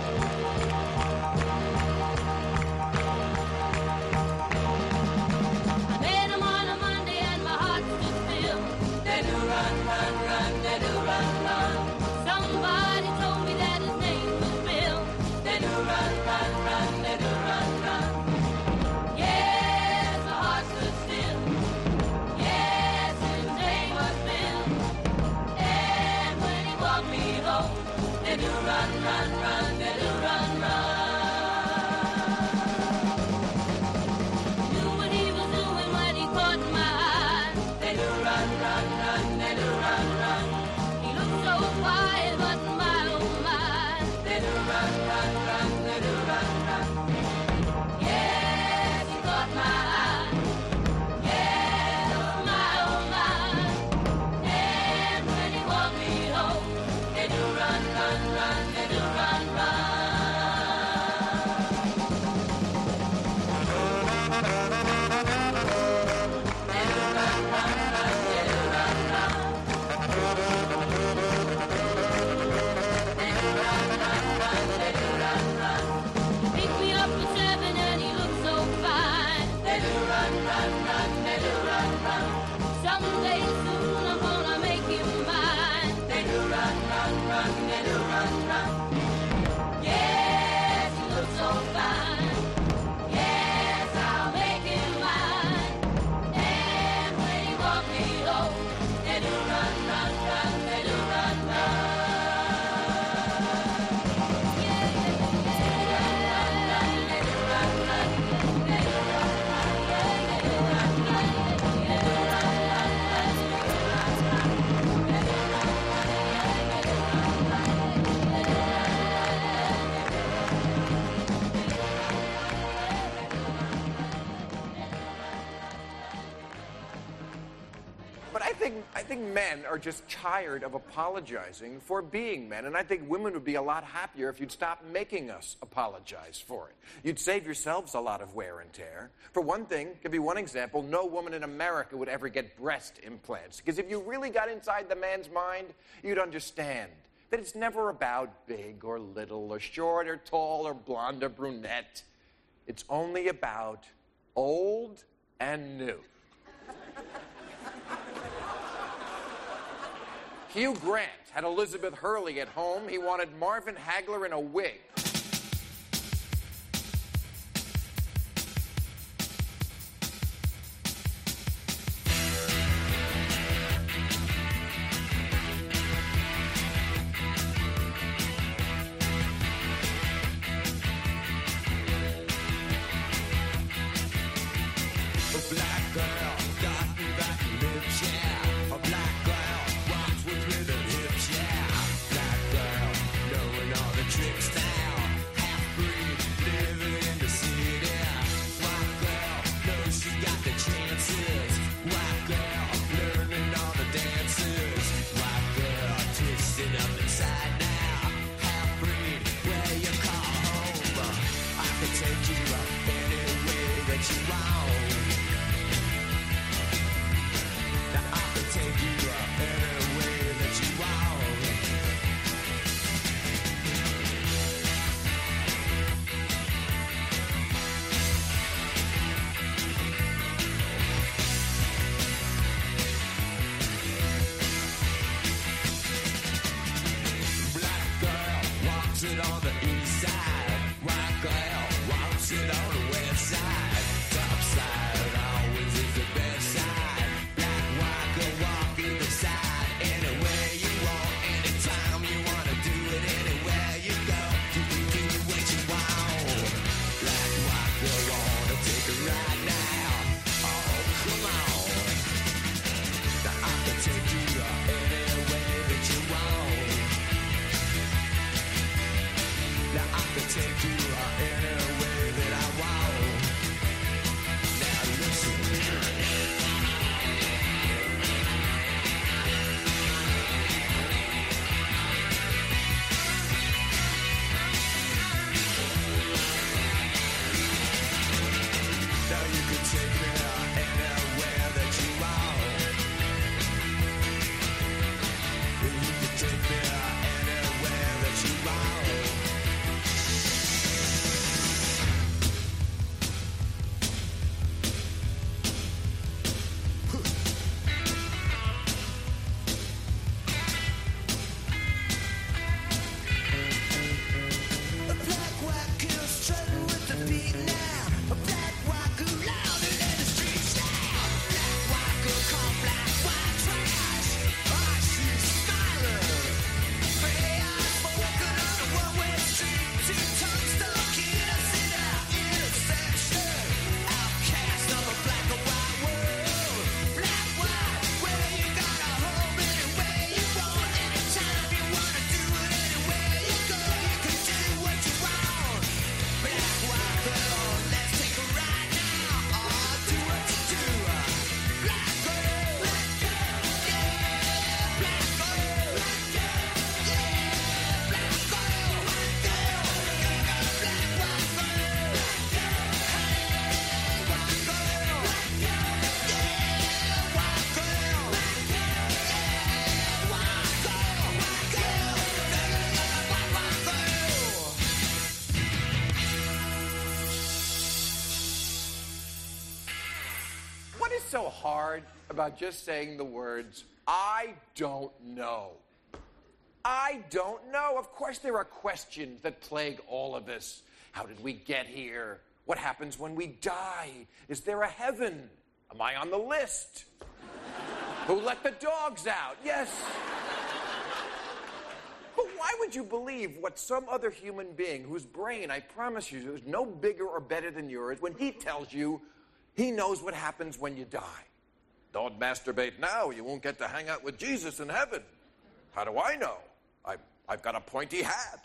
I think men are just tired of apologizing for being men, and I think women would be a lot happier if you'd stop making us apologize for it. You'd save yourselves a lot of wear and tear. For one thing, give you one example, no woman in America would ever get breast implants, because if you really got inside the man's mind, you'd understand that it's never about big or little or short or tall or blonde or brunette. It's only about old and new. Hugh Grant had Elizabeth Hurley at home. He wanted Marvin Hagler in a wig. so hard about just saying the words, I don't know? I don't know. Of course there are questions that plague all of us. How did we get here? What happens when we die? Is there a heaven? Am I on the list? Who let the dogs out? Yes. But why would you believe what some other human being, whose brain, I promise you, is no bigger or better than yours, when he tells you he knows what happens when you die? Don't masturbate now. You won't get to hang out with Jesus in heaven. How do I know? I, I've got a pointy hat.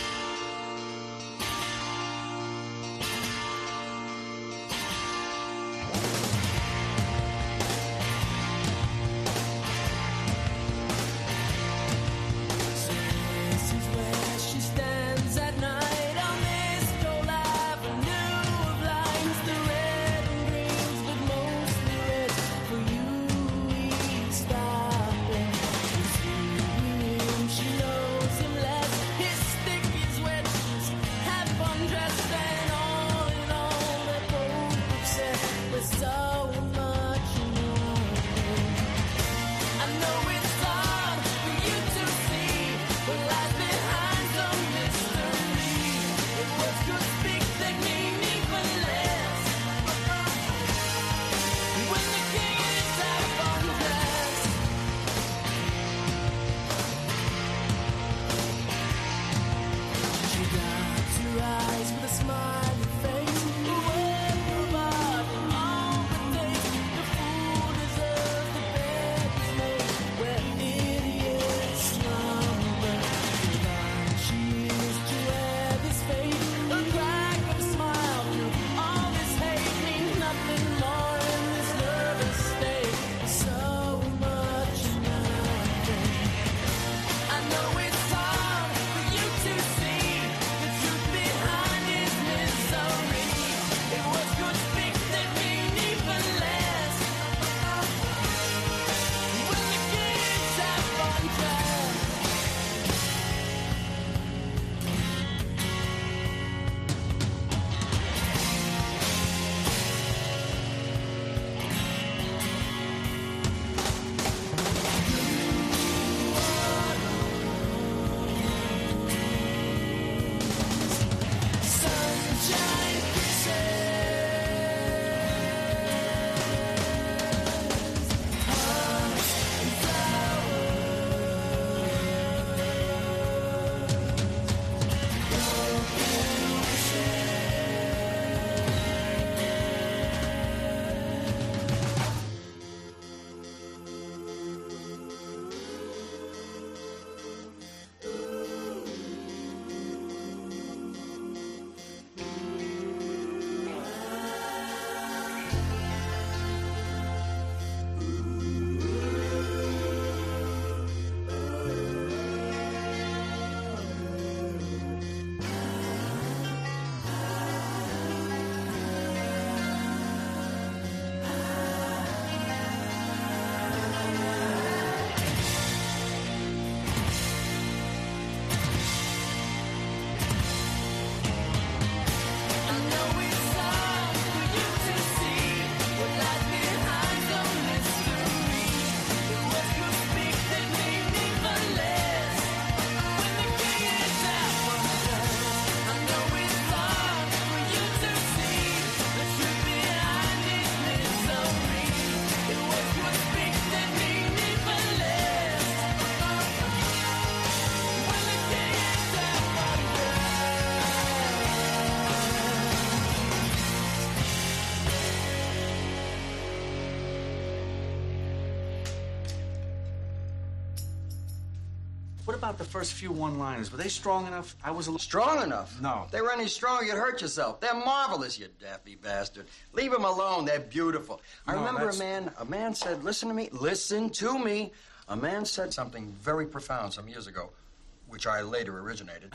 What about the first few one-liners? Were they strong enough? I was a little... Strong enough? No. If they were any stronger, you'd hurt yourself. They're marvelous, you daffy bastard. Leave them alone. They're beautiful. I No, remember that's- a man, a man said, listen to me, listen to me. A man said something very profound some years ago, which I later originated.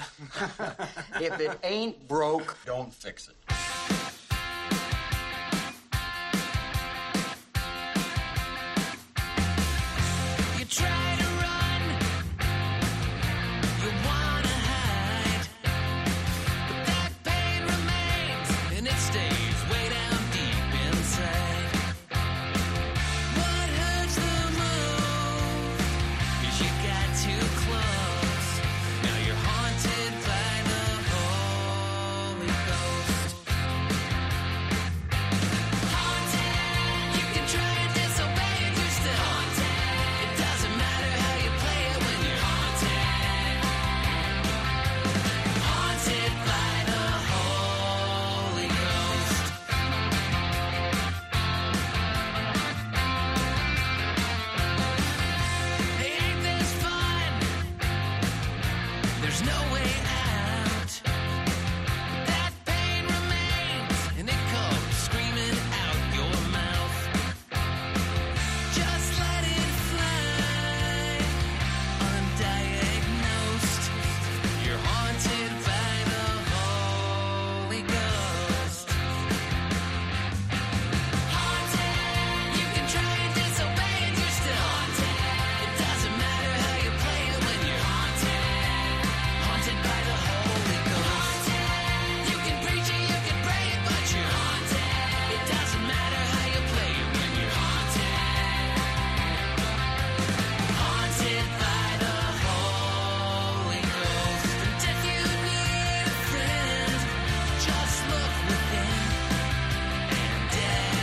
If it ain't broke, don't fix it. You try to run, you wanna hide, but that pain remains and it stays way down deep inside. there's no way out. That pain remains, and it comes screaming out your mouth. Just let it fly, undiagnosed. You're haunted by the Holy Ghost. Haunted, you can try and disobey and you're still haunted. It doesn't matter how you play it when you're haunted. Haunted by the Holy Ghost. You can preach it, you can pray it, but you're haunted. It doesn't matter how you play it when you're haunted. Haunted by the Holy Ghost. And if you need a friend, just look within and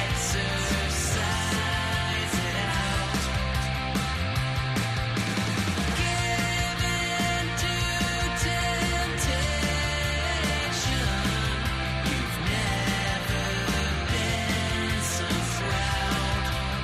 exercise it out. Give in to temptation. You've never been so proud.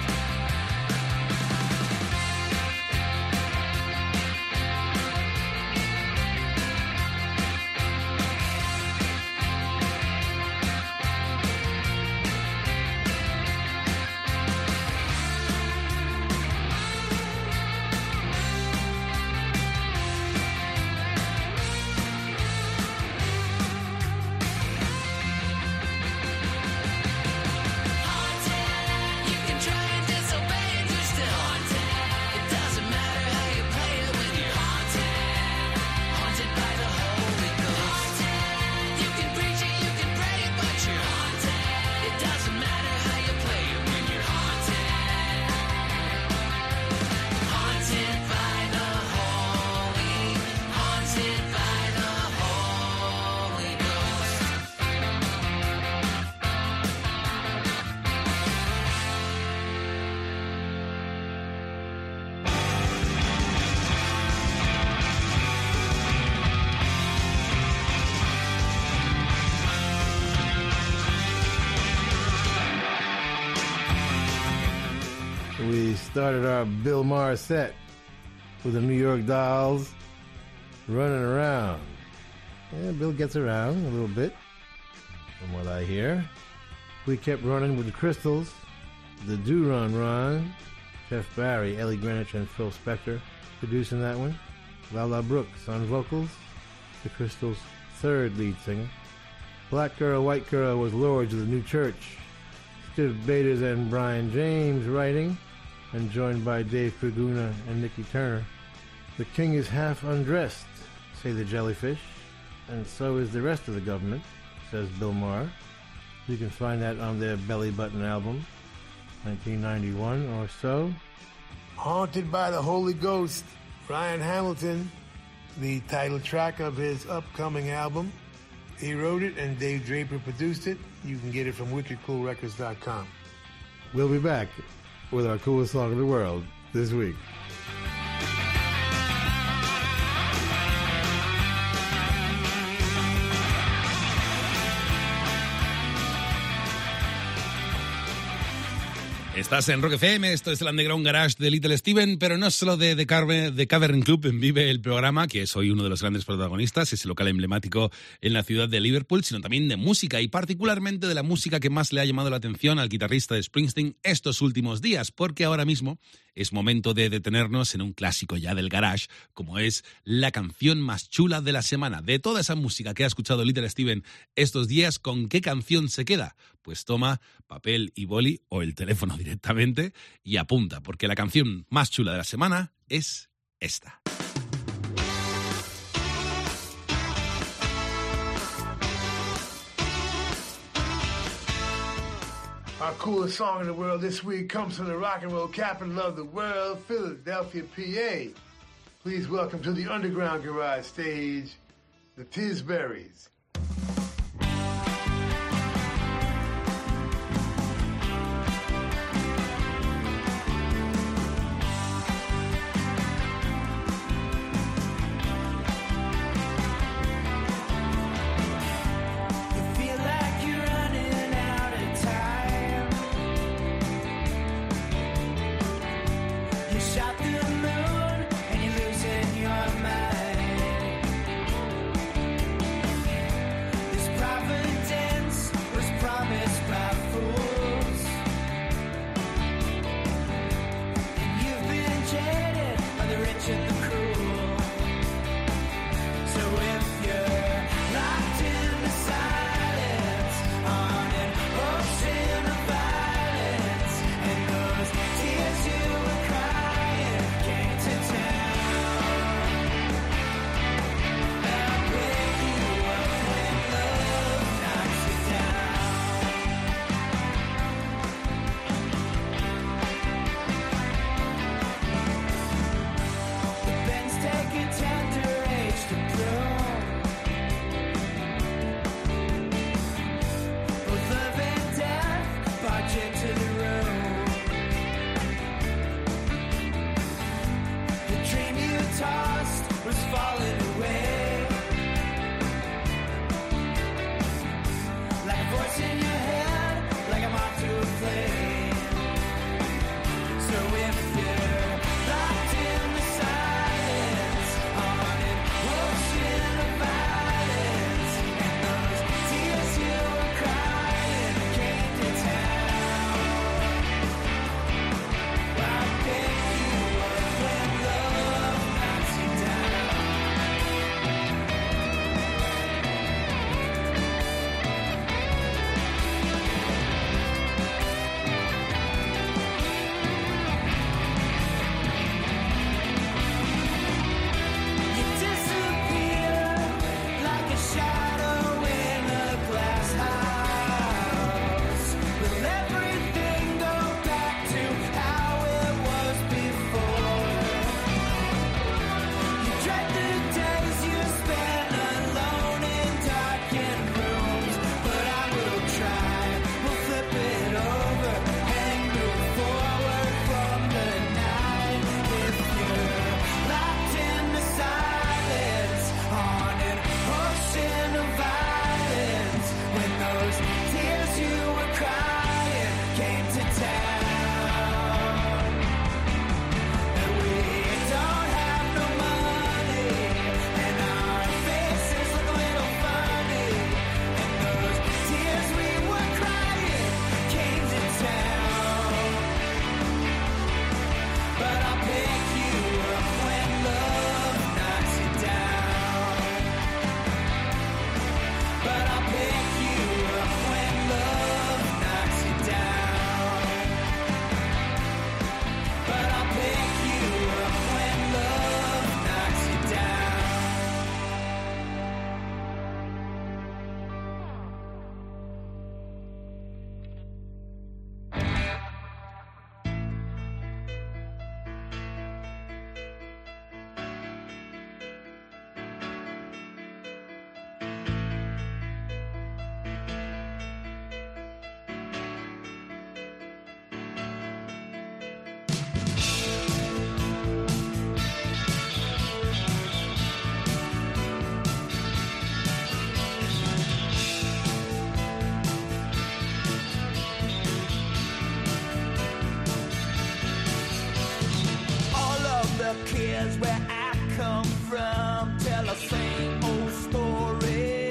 Haunted, you can try and disobey and you're still haunted. It doesn't matter how you play it when you're haunted. Haunted by the Holy Ghost. You can preach it, you can pray it, but you're haunted. It doesn't matter how you play it when you're haunted. Haunted by the Holy, haunted by the Holy Ghost. We started our Bill Maher set with the New York Dolls running around. Yeah, Bill gets around a little bit, from what I hear. We kept running with the Crystals, the Do Run Run, Jeff Barry, Ellie Greenwich, and Phil Spector producing that one. Lala Brooks on vocals, the Crystals' third lead singer. Black Girl, White Girl was Lords of the New Church. Steve Baders and Brian James writing, and joined by Dave Praguna and Nikki Turner. The king is half undressed, say the Jellyfish, and so is the rest of the government, says Bill Maher. You can find that on their Belly Button album, nineteen ninety-one or so. Haunted by the Holy Ghost, Ryan Hamilton, the title track of his upcoming album. He wrote it and Dave Draper produced it. You can get it from wicked cool records dot com. We'll be back with our coolest song in the world this week. Estás en Rock F M, esto es el Underground Garage de Little Steven, pero no solo de The Cavern, Cavern Club vive el programa, que soy uno de los grandes protagonistas, es el local emblemático en la ciudad de Liverpool, sino también de música, y particularmente de la música que más le ha llamado la atención al guitarrista de Springsteen estos últimos días, porque ahora mismo es momento de detenernos en un clásico ya del garage, como es la canción más chula de la semana. De toda esa música que ha escuchado Little Steven estos días, ¿con qué canción se queda? Pues toma papel y boli o el teléfono directamente y apunta, porque la canción más chula de la semana es esta. Our coolest song in the world this week comes from the rock and roll capital of the world, Philadelphia, P A. Please welcome to the Underground Garage stage, the Tisberries. Shot through the moon and you're losing your mind. was falling away. Like a voice in your head, like a mark to a flame. So if you're locked in the silence on an ocean of violence, and those tears you were crying came to town, I'll pick you up when love knocks you down. You disappear like a shadow in a glass house. Will everything go back to how it was before? You dread the days you spend alone in darkened rooms, but I will try. We'll flip it over and move forward from the night. If you're locked in the silence on an ocean of violence, when those tears you were crying came to town, and we don't have no money, and our faces look a little funny, and those tears we were crying came to town. But I'll pick you up when love knocks you down. But I'll pick you up when love knocks you down. But I'll pick you up when love knocks you down. All of the kids where I come from tell the same old story.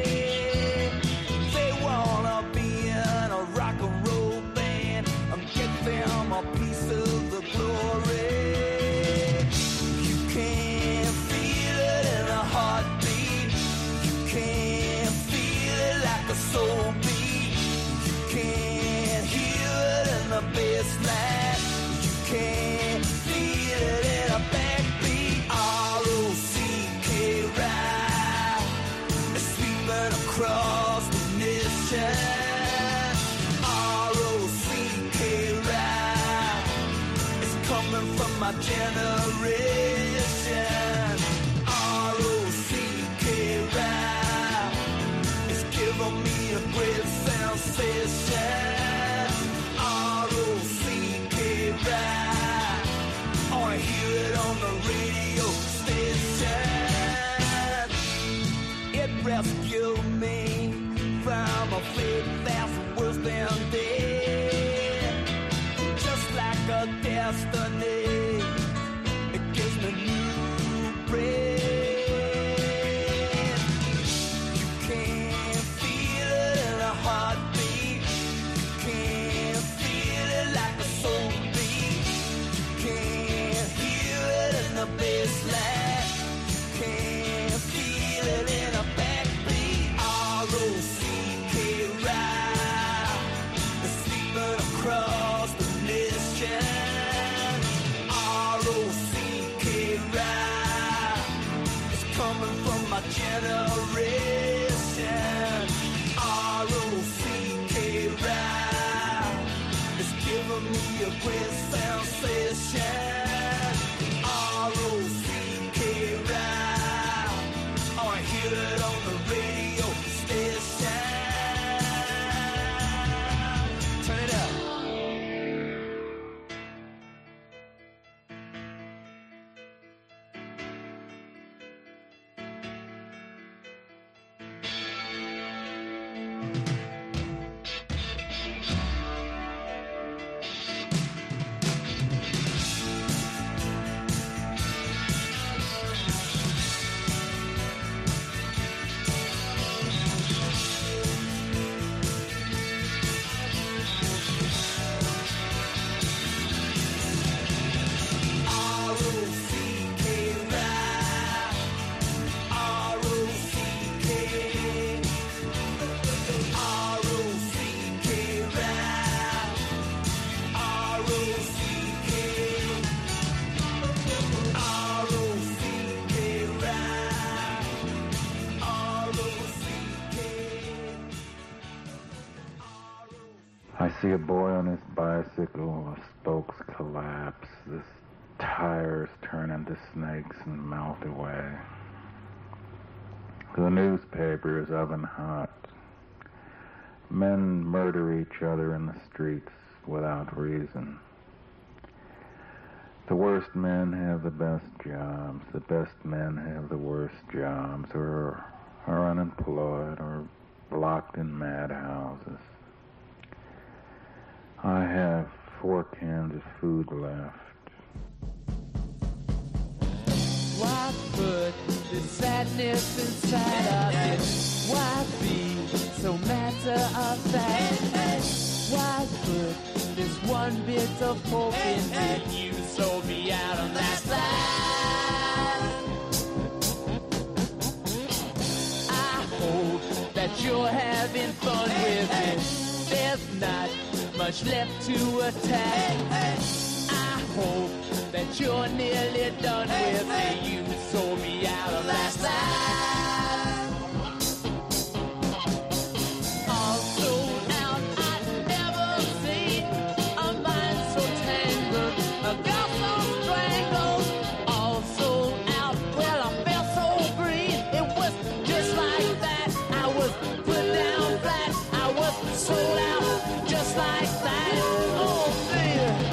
They wanna be in a rock and roll band and get them a piece of the glory. You can't feel it in a heartbeat. You can't feel it like a soul beat. You can't hear it in the bass line. You can't feel it in a backbeat. R O C K ride is sweeping across the nation. R O C K ride is coming from my generation. R O C K ride is giving me a great sensation. R O C K ride, oh, I hear it on the radio station. It rescued me from a fate that's worse than dead. Just like a destiny, it gives me new breath. You can't feel it in a heartbeat. You can't feel it like a soul beat. You can't hear it in the bass line. You can't feel it in a backbeat. R O C K ride is sweeping across the nation. R O C K ride is coming from my generation. R O C K ride is giving me a great sensation. R O C K ride, oh, I hear it on the radio station. Turn it up. I see a boy on his bicycle, the spokes collapse, the tires turn into snakes and melt away. The newspaper is oven hot. Men murder each other in the streets without reason. The worst men have the best jobs. The best men have the worst jobs, or are unemployed, or locked in madhouses. I have four cans of food left. Why put the sadness inside of it? Why be so matter of fact? Why put this one bit of hope in it? You sold me out on that side. I hope that you're having fun with it. There's not much left to attack. I hope that you're nearly done with it. You sold me out on that side. All sold out, I'd never seen a mind so tangled, a girl so strangled. All sold out, well I felt so green. It was just like that. I was put down flat. I was sold out, just like that. Oh dear.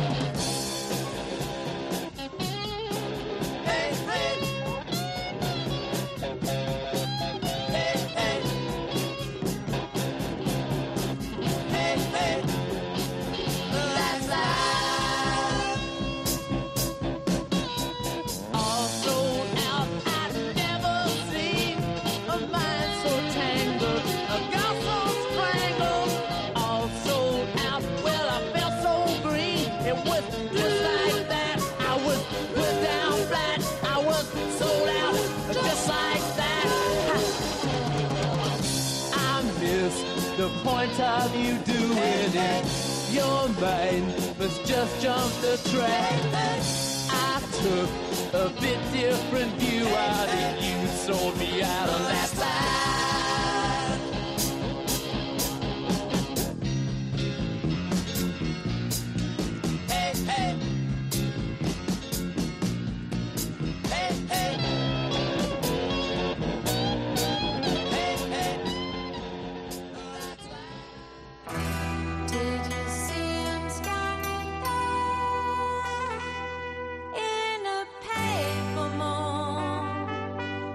The point of you doing it, your mind was just jump the track. I took a bit different view out of you, sold me out on that side. Hey, hey. Hey, hey. Did you see him standing there in a paper mall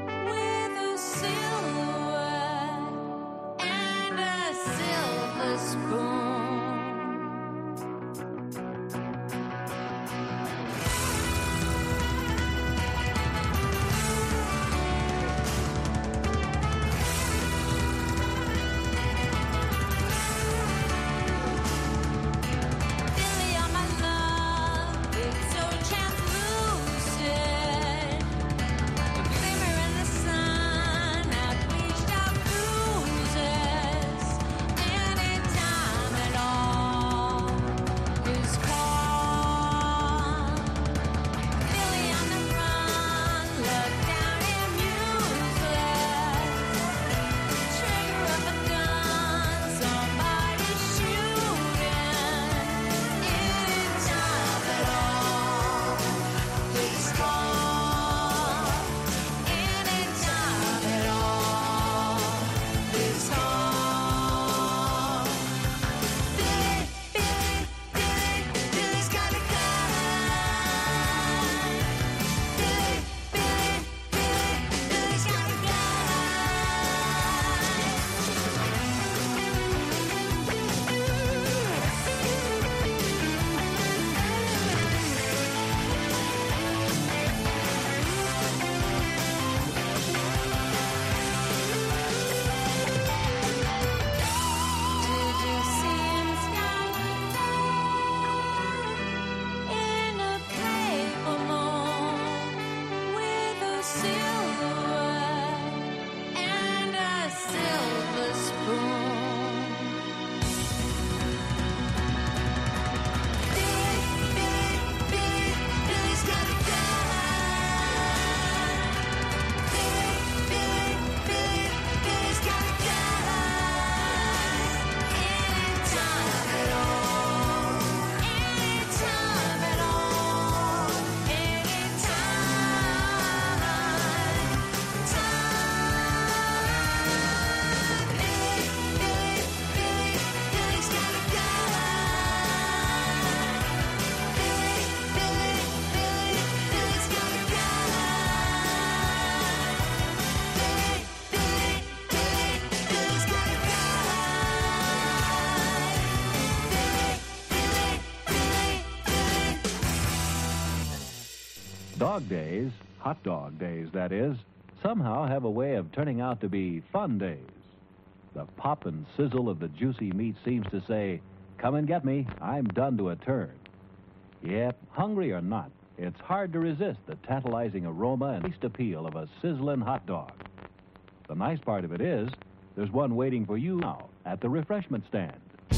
Dog days, hot dog days, that is, somehow have a way of turning out to be fun days. The pop and sizzle of the juicy meat seems to say, come and get me, I'm done to a turn. Yep, hungry or not, it's hard to resist the tantalizing aroma and taste appeal of a sizzling hot dog. The nice part of it is, there's one waiting for you now at the refreshment stand.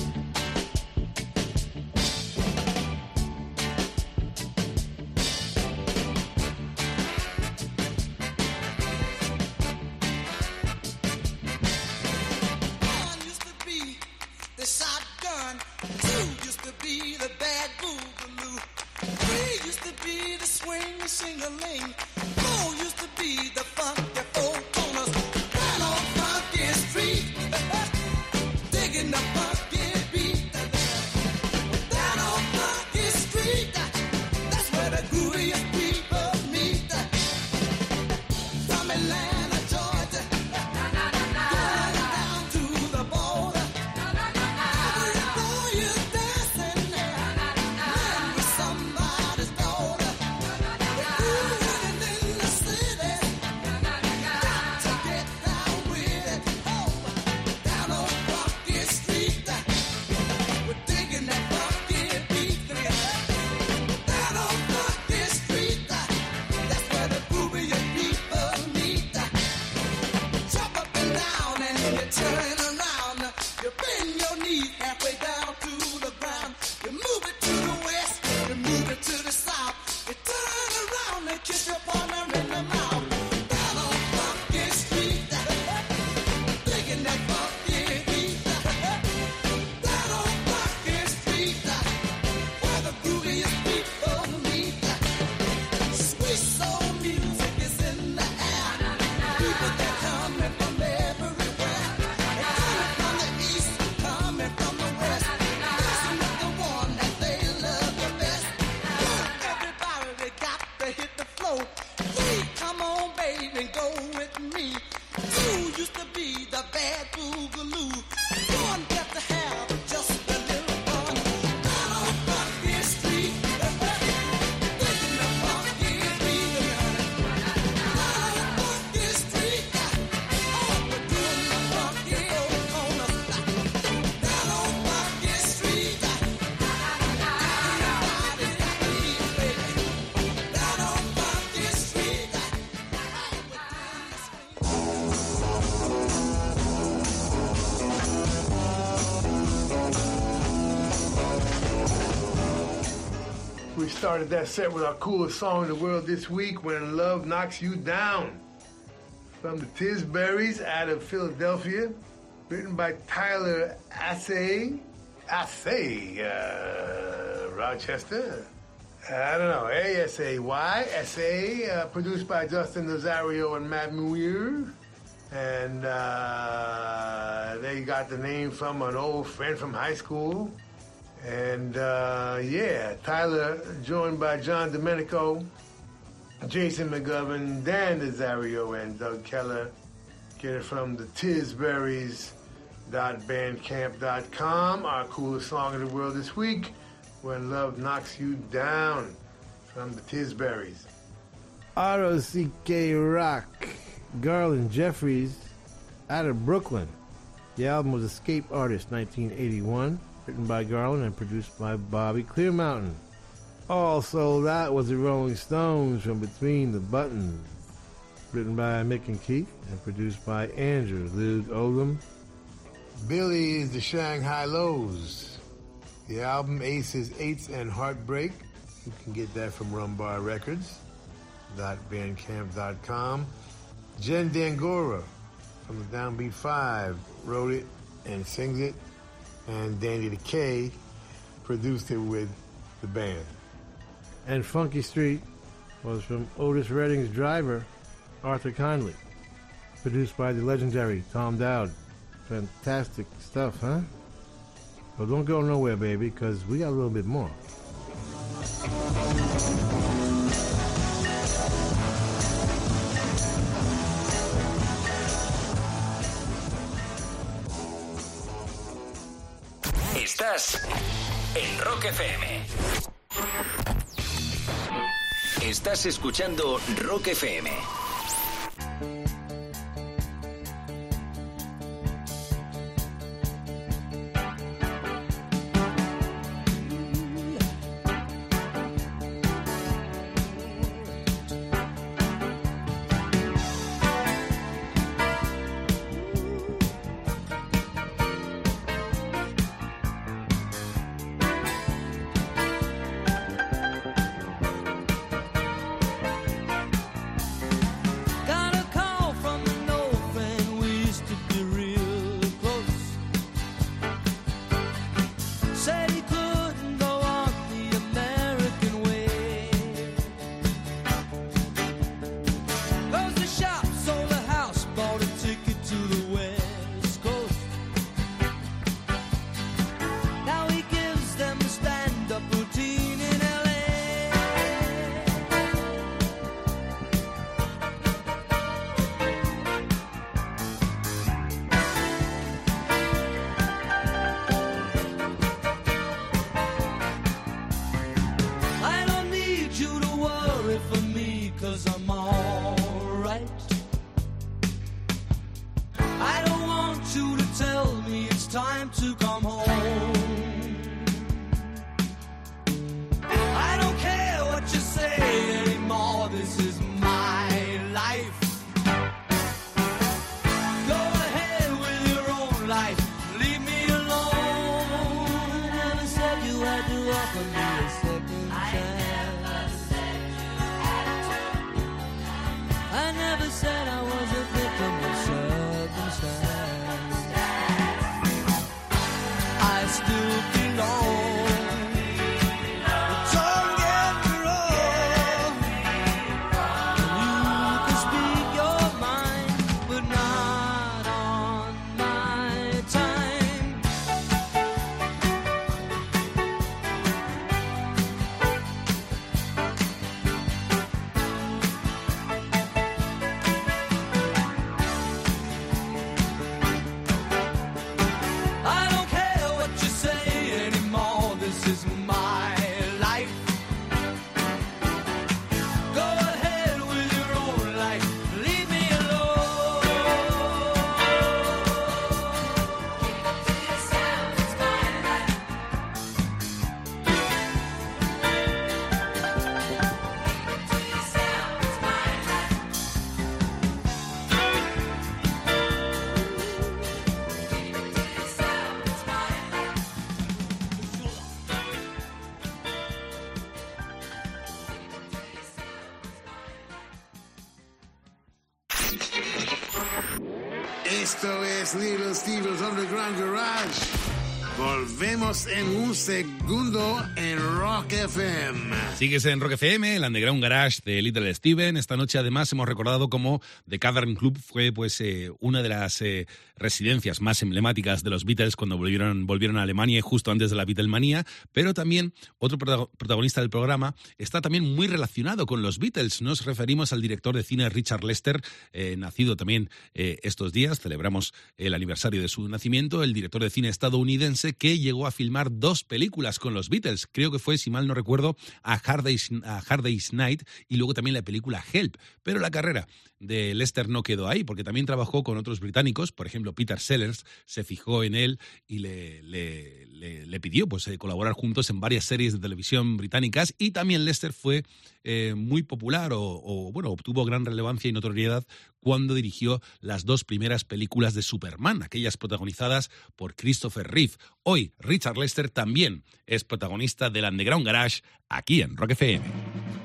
Sing-a-ling. Four used to be the funky four corners. Right on Funky Street, digging the funky beat. Down on Funky Street, that's where the grooviest people meet. From Atlanta, Georgia, going down to the border. Every boy is dancing man with somebody's daughter. We started that set with our coolest song in the world this week, When Love Knocks You Down. From the Tisberries out of Philadelphia, written by Tyler Assay. Assay, uh, Rochester. I don't know, A S A Y, S A, uh, produced by Justin Nazario and Matt Muir. And uh, they got the name from an old friend from high school. And, uh, yeah, Tyler, joined by John Domenico, Jason McGovern, Dan Nazario, and Doug Keller. Get it from the Tisberries dot bandcamp dot com. Our coolest song in the world this week, When Love Knocks You Down, from the Tisberries. R O C K Rock, Garland Jeffries, out of Brooklyn. The album was Escape Artist, nineteen eighty-one. Written by Garland and produced by Bobby Clearmountain. Also, that was the Rolling Stones from Between the Buttons. Written by Mick and Keith and produced by Andrew Loog Oldham. Billy is the Shanghai Lows. The album Aces, Eights, and Heartbreak. You can get that from Rumbar Records. bandcamp dot com. Jen Dangora from the Downbeat Five wrote it and sings it. And Danny the K produced it with the band. And Funky Street was from Otis Redding's Driver, Arthur Conley. Produced by the legendary Tom Dowd. Fantastic stuff, huh? Well, don't go nowhere, baby, because we got a little bit more. Estás en Rock F M. Estás escuchando Rock F M. Esto es Little Steven's Underground Garage. Volvemos en un segundo en Rock F M. Sigues en Rock F M, el Underground Garage de Little Steven. Esta noche además hemos recordado cómo The Cavern Club fue pues eh, una de las eh, residencias más emblemáticas de los Beatles cuando volvieron, volvieron a Alemania y justo antes de la Beatlemanía. Pero también otro protagonista del programa está también muy relacionado con los Beatles. Nos referimos al director de cine Richard Lester, eh, nacido también eh, estos días. Celebramos el aniversario de su nacimiento. El director de cine estadounidense que llegó a filmar dos películas con los Beatles. Creo que fue, si mal no recuerdo, a Hard Day's, a Hard Day's Night y luego también la película Help. Pero la carrera de Lester no quedó ahí, porque también trabajó con otros británicos. Por ejemplo, Peter Sellers se fijó en él y le, le, le, le pidió pues, eh, colaborar juntos en varias series de televisión británicas. Y también Lester fue eh, muy popular o, o bueno, obtuvo gran relevancia y notoriedad cuando dirigió las dos primeras películas de Superman, aquellas protagonizadas por Christopher Reeve. Hoy, Richard Lester también es protagonista del Underground Garage aquí en Rock F M.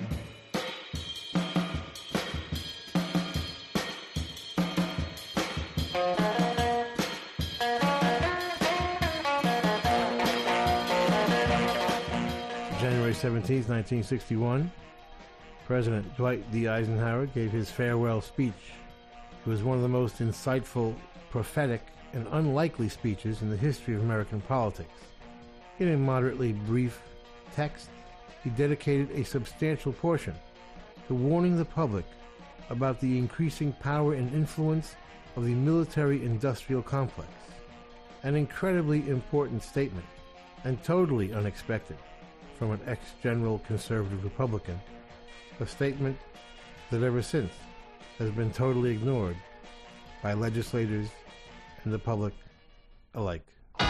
January seventeenth, nineteen sixty-one, President Dwight D. Eisenhower gave his farewell speech. It was one of the most insightful, prophetic, and unlikely speeches in the history of American politics. In a moderately brief text, he dedicated a substantial portion to warning the public about the increasing power and influence of the military-industrial complex. An incredibly important statement, and totally unexpected from an ex-general conservative Republican. a statement that ever since has been totally ignored by legislators and the public alike.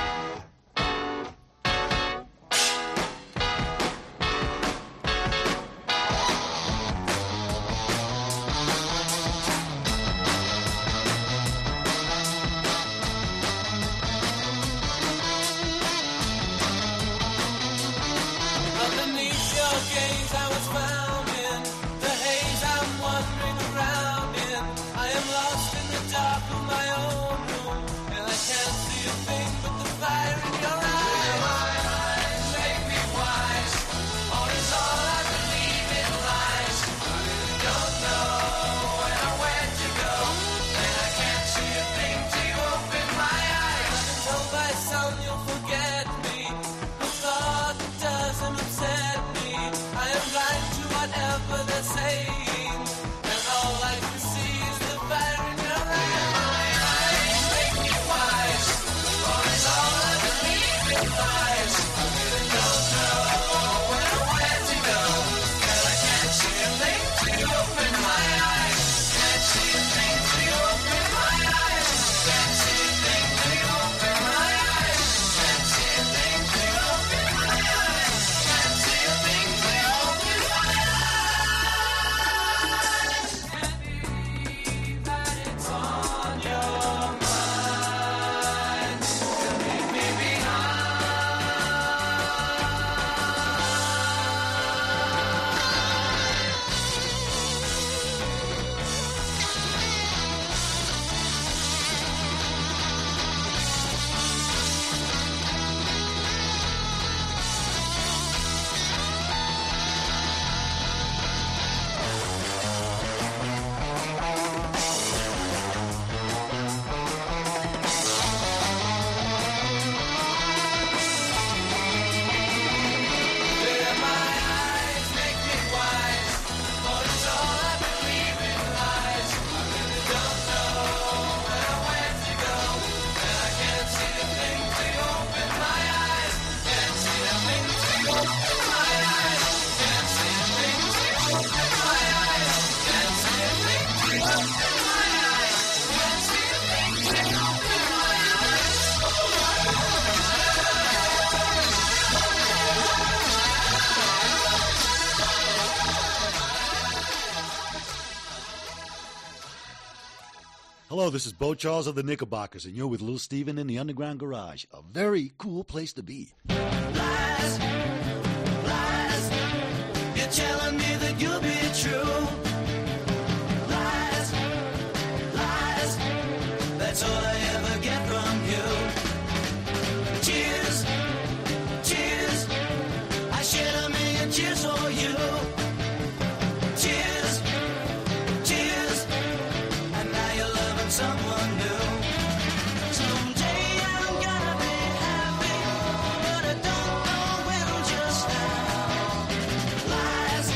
Underneath your gaze I was found in the haze I'm wandering around in. I am lost in the dark of my own room, and I can't see a thing but the fire in your eyes. My eyes make me wise, or is all I believe in lies. I really don't know where or where to go, and I can't see a thing till you open my eyes. I've been told by some you'll forget me, a thought that doesn't upset me. I am blind to whatever they're saying, and all I can see is the fire in your eyes. My eyes make me wise, or is all I believe in lies. I really don't know where or where to go, and I can't see a thing till you open my eyes. Can't see a thing till you open my eyes. Can't see a thing till you open my eyes. Can't see a thing till you open my eyes. Can't see a thing till you open my eyes. That it's on your mind to leave me behind. Clear my eyes, make me wise, for it's all I believe in lies. I really don't know where or where to go, and I can't see a thing till you open my eyes. Can't see a thing till you open my eyes. Can't see a thing till you open my eyes. Can't see a thing till you open my eyes. Can't see a thing till you open my Hello, this is Bo Charles of the Knickerbockers, and you're with Little Steven in the Underground Garage. A very cool place to be. lies, lies. You're telling me that you'll be true. Lies, lies. That's all I ever get from you. Tears, tears. I shed a million tears for you. Tears, tears. And now you're loving someone new. Someday I'm gonna be happy, but I don't know when just now. Lies,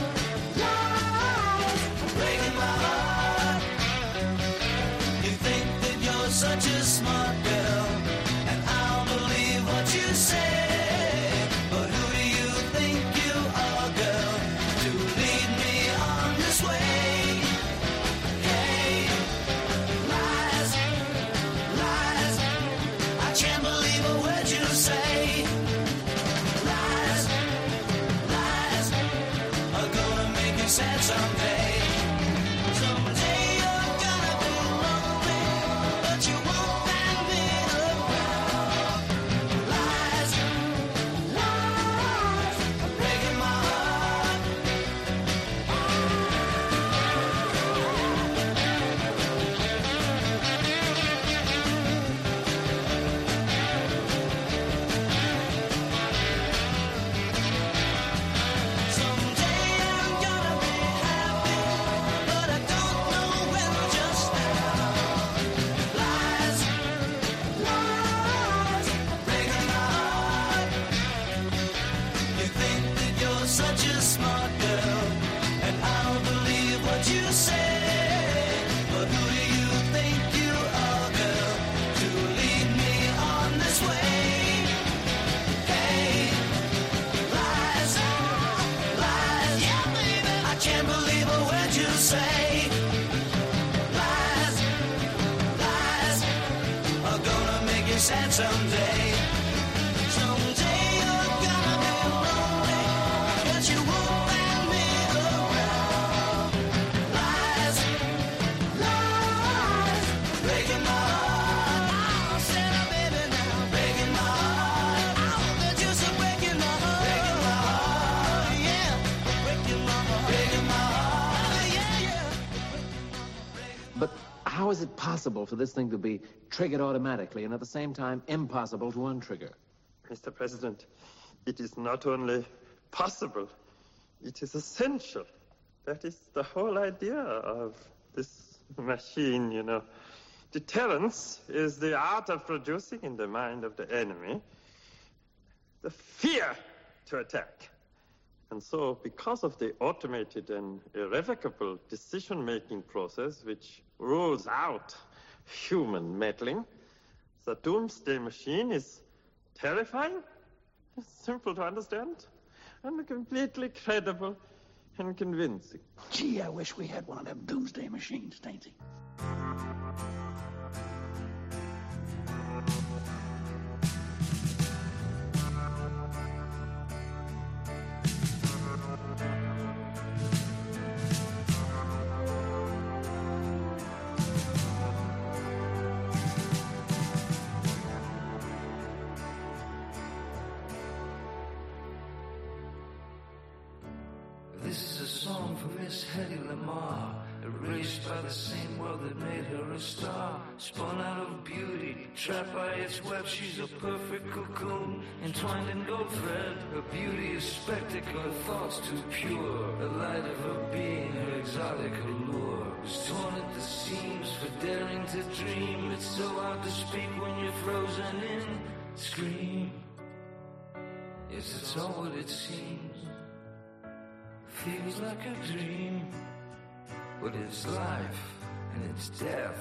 lies, breaking my heart. You think that you're such a smart girl, and I'll believe what you say. But who do you think you are, girl, to lead me on this way? Hey, lies, lies. I can't believe a word you say. Lies, lies are gonna make you sad someday. Someday you're gonna be lonely, but you won't find me sad someday. Someday you're gonna be lonely, 'cause you won't find me around. Lies, lies, breaking my heart. Oh, Santa baby now, breaking my heart. Oh, the juice is breaking my heart, breaking my heart, yeah, breaking my heart, breaking my heart, yeah, yeah. But how is it possible for this thing to be triggered automatically and at the same time impossible to untrigger? Mister President, it is not only possible, it is essential. That is the whole idea of this machine, you know. Deterrence is the art of producing in the mind of the enemy the fear to attack. And so, because of the automated and irrevocable decision-making process which rules out human meddling, the doomsday machine is terrifying, simple to understand, and completely credible and convincing. Gee, I wish we had one of them doomsday machines, Stainsy. This is a song for Miss Hedy Lamarr, erased by the same world that made her a star. Spun out of beauty, trapped by its web, she's a perfect cocoon, entwined in gold thread. Her beauty is spectacle, her thoughts too pure. The light of her being, her exotic allure, is torn at the seams for daring to dream. It's so hard to speak when you're frozen in. Scream. Yes, it's all what it seems. Feels like a dream, but it's life and it's death.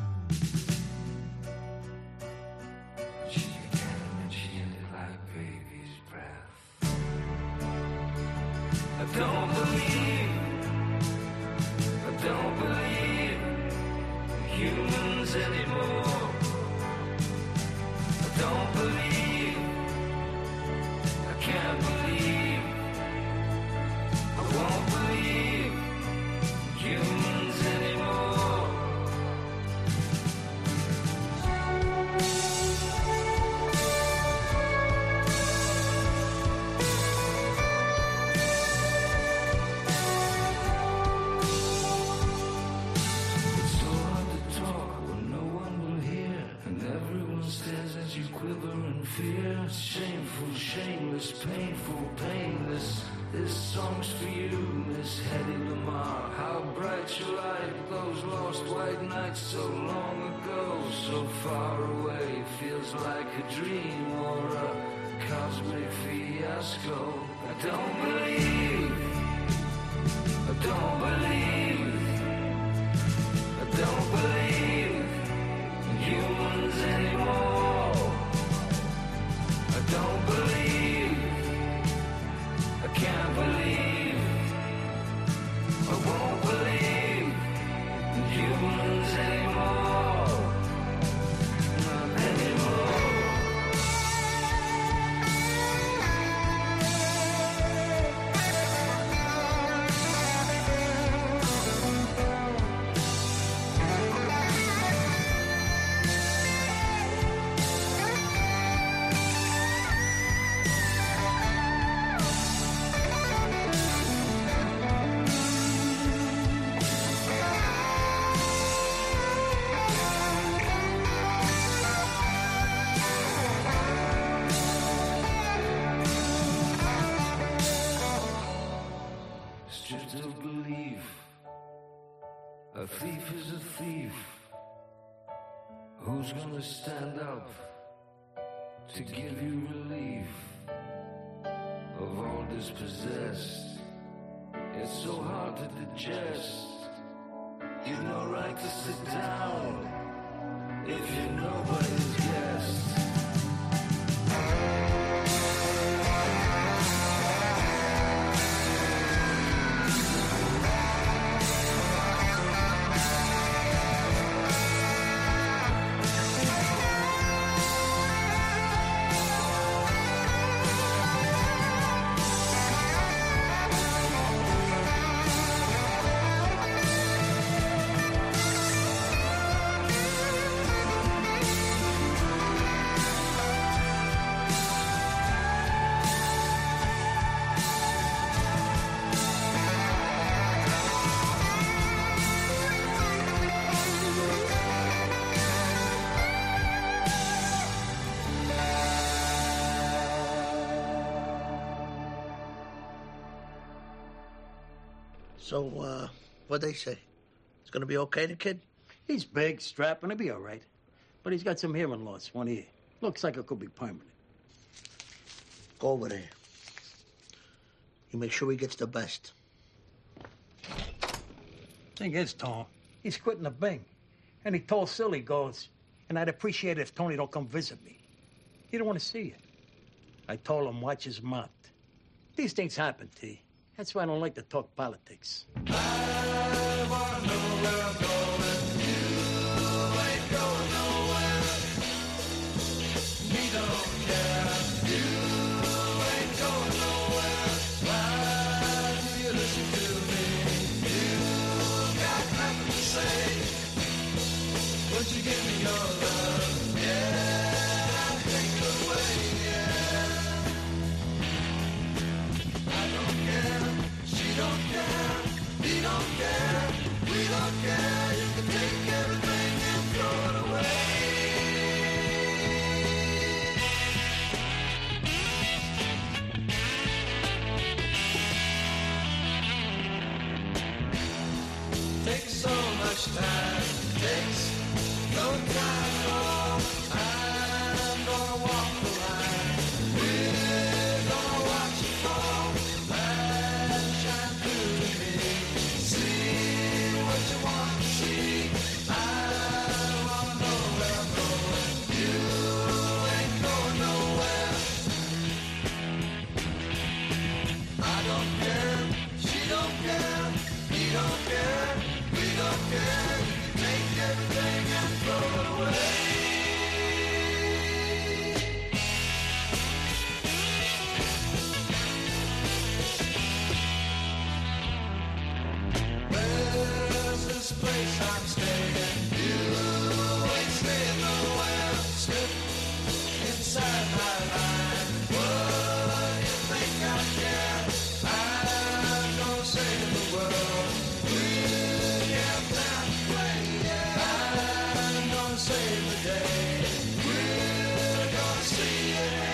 She began and she ended like baby's breath. I don't believe, I don't believe in humans anymore. I don't believe, I can't believe, I won't believe humans anymore. It's so hard to talk when no one will hear, and everyone stares as you quiver in fear. Shameful, shameless, painful, painless. This song's for you, Miss Hedy Lamarr. How bright your light, those lost white nights so long ago, so far away. Feels like a dream or a cosmic fiasco. I don't believe, I don't believe, I don't believe in humans anymore. I don't believe, I can't believe, I won't believe in humans anymore, not anymore. Stripped of belief, a thief is a thief. Who's gonna stand up to give you relief of all dispossessed? It's so hard to digest. You've no right to sit down if you're nobody's guest. So, uh, what'd they say? It's gonna be okay, the kid? He's big, strapping, he'll be all right. But he's got some hearing loss, one ear. Looks like it could be permanent. Go over there. You make sure he gets the best. Thing is, Tom, he's quitting the Bing. And he told Sil, he goes, and I'd appreciate it if Tony don't come visit me. He don't want to see you. I told him, watch his mouth. These things happen, T. That's why I don't like to talk politics. Would you give me your love? Yeah, I'll take it away, yeah. I don't care, she don't care, he don't care, we don't care. You can take everything and throw it away. Takes so much time, takes no time at all. I'm gonna walk the line. We're gonna watch it fall. Light shine through to me. See what you want to see. I wanna know where I'm going. You ain't going nowhere. I don't care. She don't care. He don't care. We don't care. Take everything and throw it away. Where's this place I'm staying? You ain't staying nowhere. Slip inside my line. What do you think I care? I'm gonna save the world. We'll get down to play, yeah. I'm gonna save the day. We're gonna see it.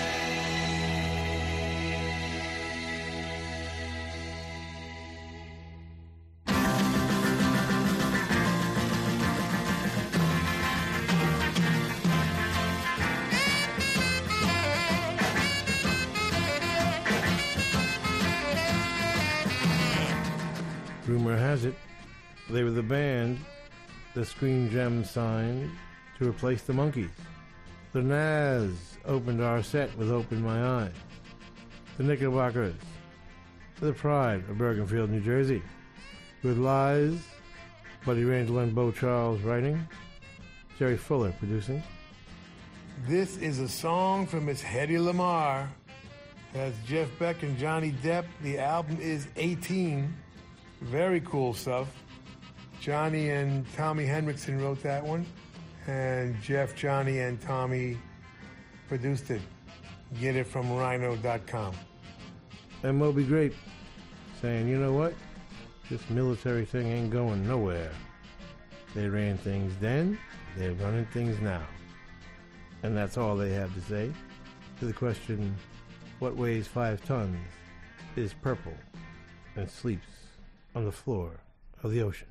Rumor has it, they were the band the Screen Gems signed to replace the Monkees. The Nazz opened our set with Open My Eyes. The Knickerbockers, The Pride of Bergenfield, New Jersey, with Lies, Buddy Randall and Bo Charles writing, Jerry Fuller producing. This is a song from Miss Hedy Lamarr. That's Jeff Beck and Johnny Depp. The album is eighteen. Very cool stuff. Johnny and Tommy Henriksen wrote that one. And Jeff, Johnny, and Tommy produced it. Get it from rhino dot com. And Moby Grape saying, you know what? This military thing ain't going nowhere. They ran things then, they're running things now. And that's all they have to say to the question, what weighs five tons, is purple, and sleeps on the floor of the ocean?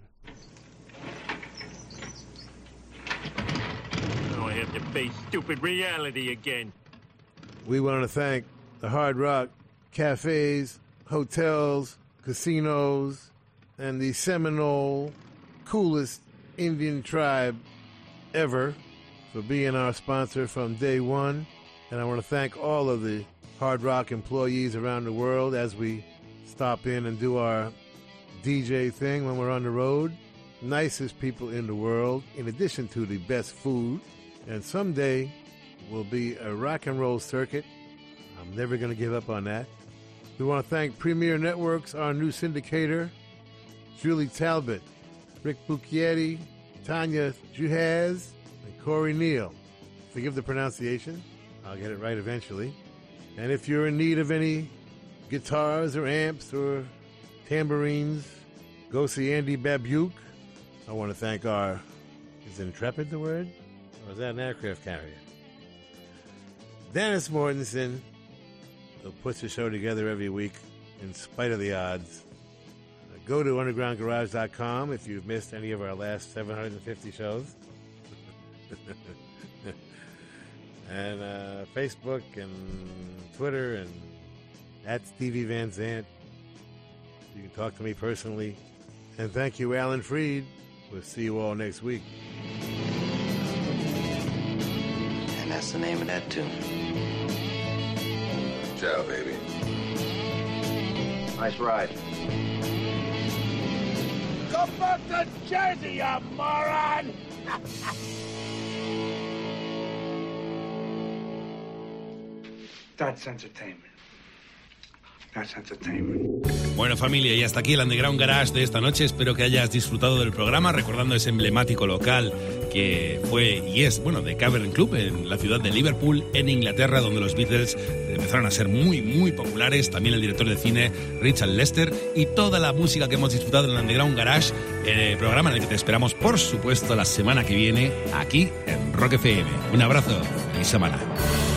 Now I have to face stupid reality again. We want to thank the Hard Rock cafes, hotels, casinos, and the Seminole coolest Indian tribe ever for being our sponsor from day one. And I want to thank all of the Hard Rock employees around the world as we stop in and do our D J thing when we're on the road. Nicest people in the world, in addition to the best food. And someday will be a rock and roll circuit. I'm never going to give up on that. We want to thank Premier Networks, our new syndicator, Julie Talbot, Rick Bucchietti, Tanya Juhaz, and Corey Neal. Forgive the pronunciation. I'll get it right eventually. And if you're in need of any guitars or amps or tambourines, go see Andy Babuke. I want to thank our, is Intrepid the word? Or is that an aircraft carrier? Dennis Mortensen, who puts the show together every week in spite of the odds. go to underground garage dot com if you've missed any of our last seven hundred fifty shows. And uh, Facebook and Twitter and at Stevie Van Zandt. You can talk to me personally. And thank you, Alan Freed. We'll see you all next week. And that's the name of that tune. Ciao, baby. Nice ride. Go back to Jersey, you moron! That's entertainment. That's entertainment. Bueno, familia, y hasta aquí el Underground Garage de esta noche. Espero que hayas disfrutado del programa, recordando ese emblemático local que fue y es, bueno, de Cavern Club en la ciudad de Liverpool, en Inglaterra, donde los Beatles empezaron a ser muy, muy populares. También el director de cine Richard Lester y toda la música que hemos disfrutado en el Underground Garage, el programa en el que te esperamos, por supuesto, la semana que viene aquí en Rock F M. Un abrazo, feliz semana.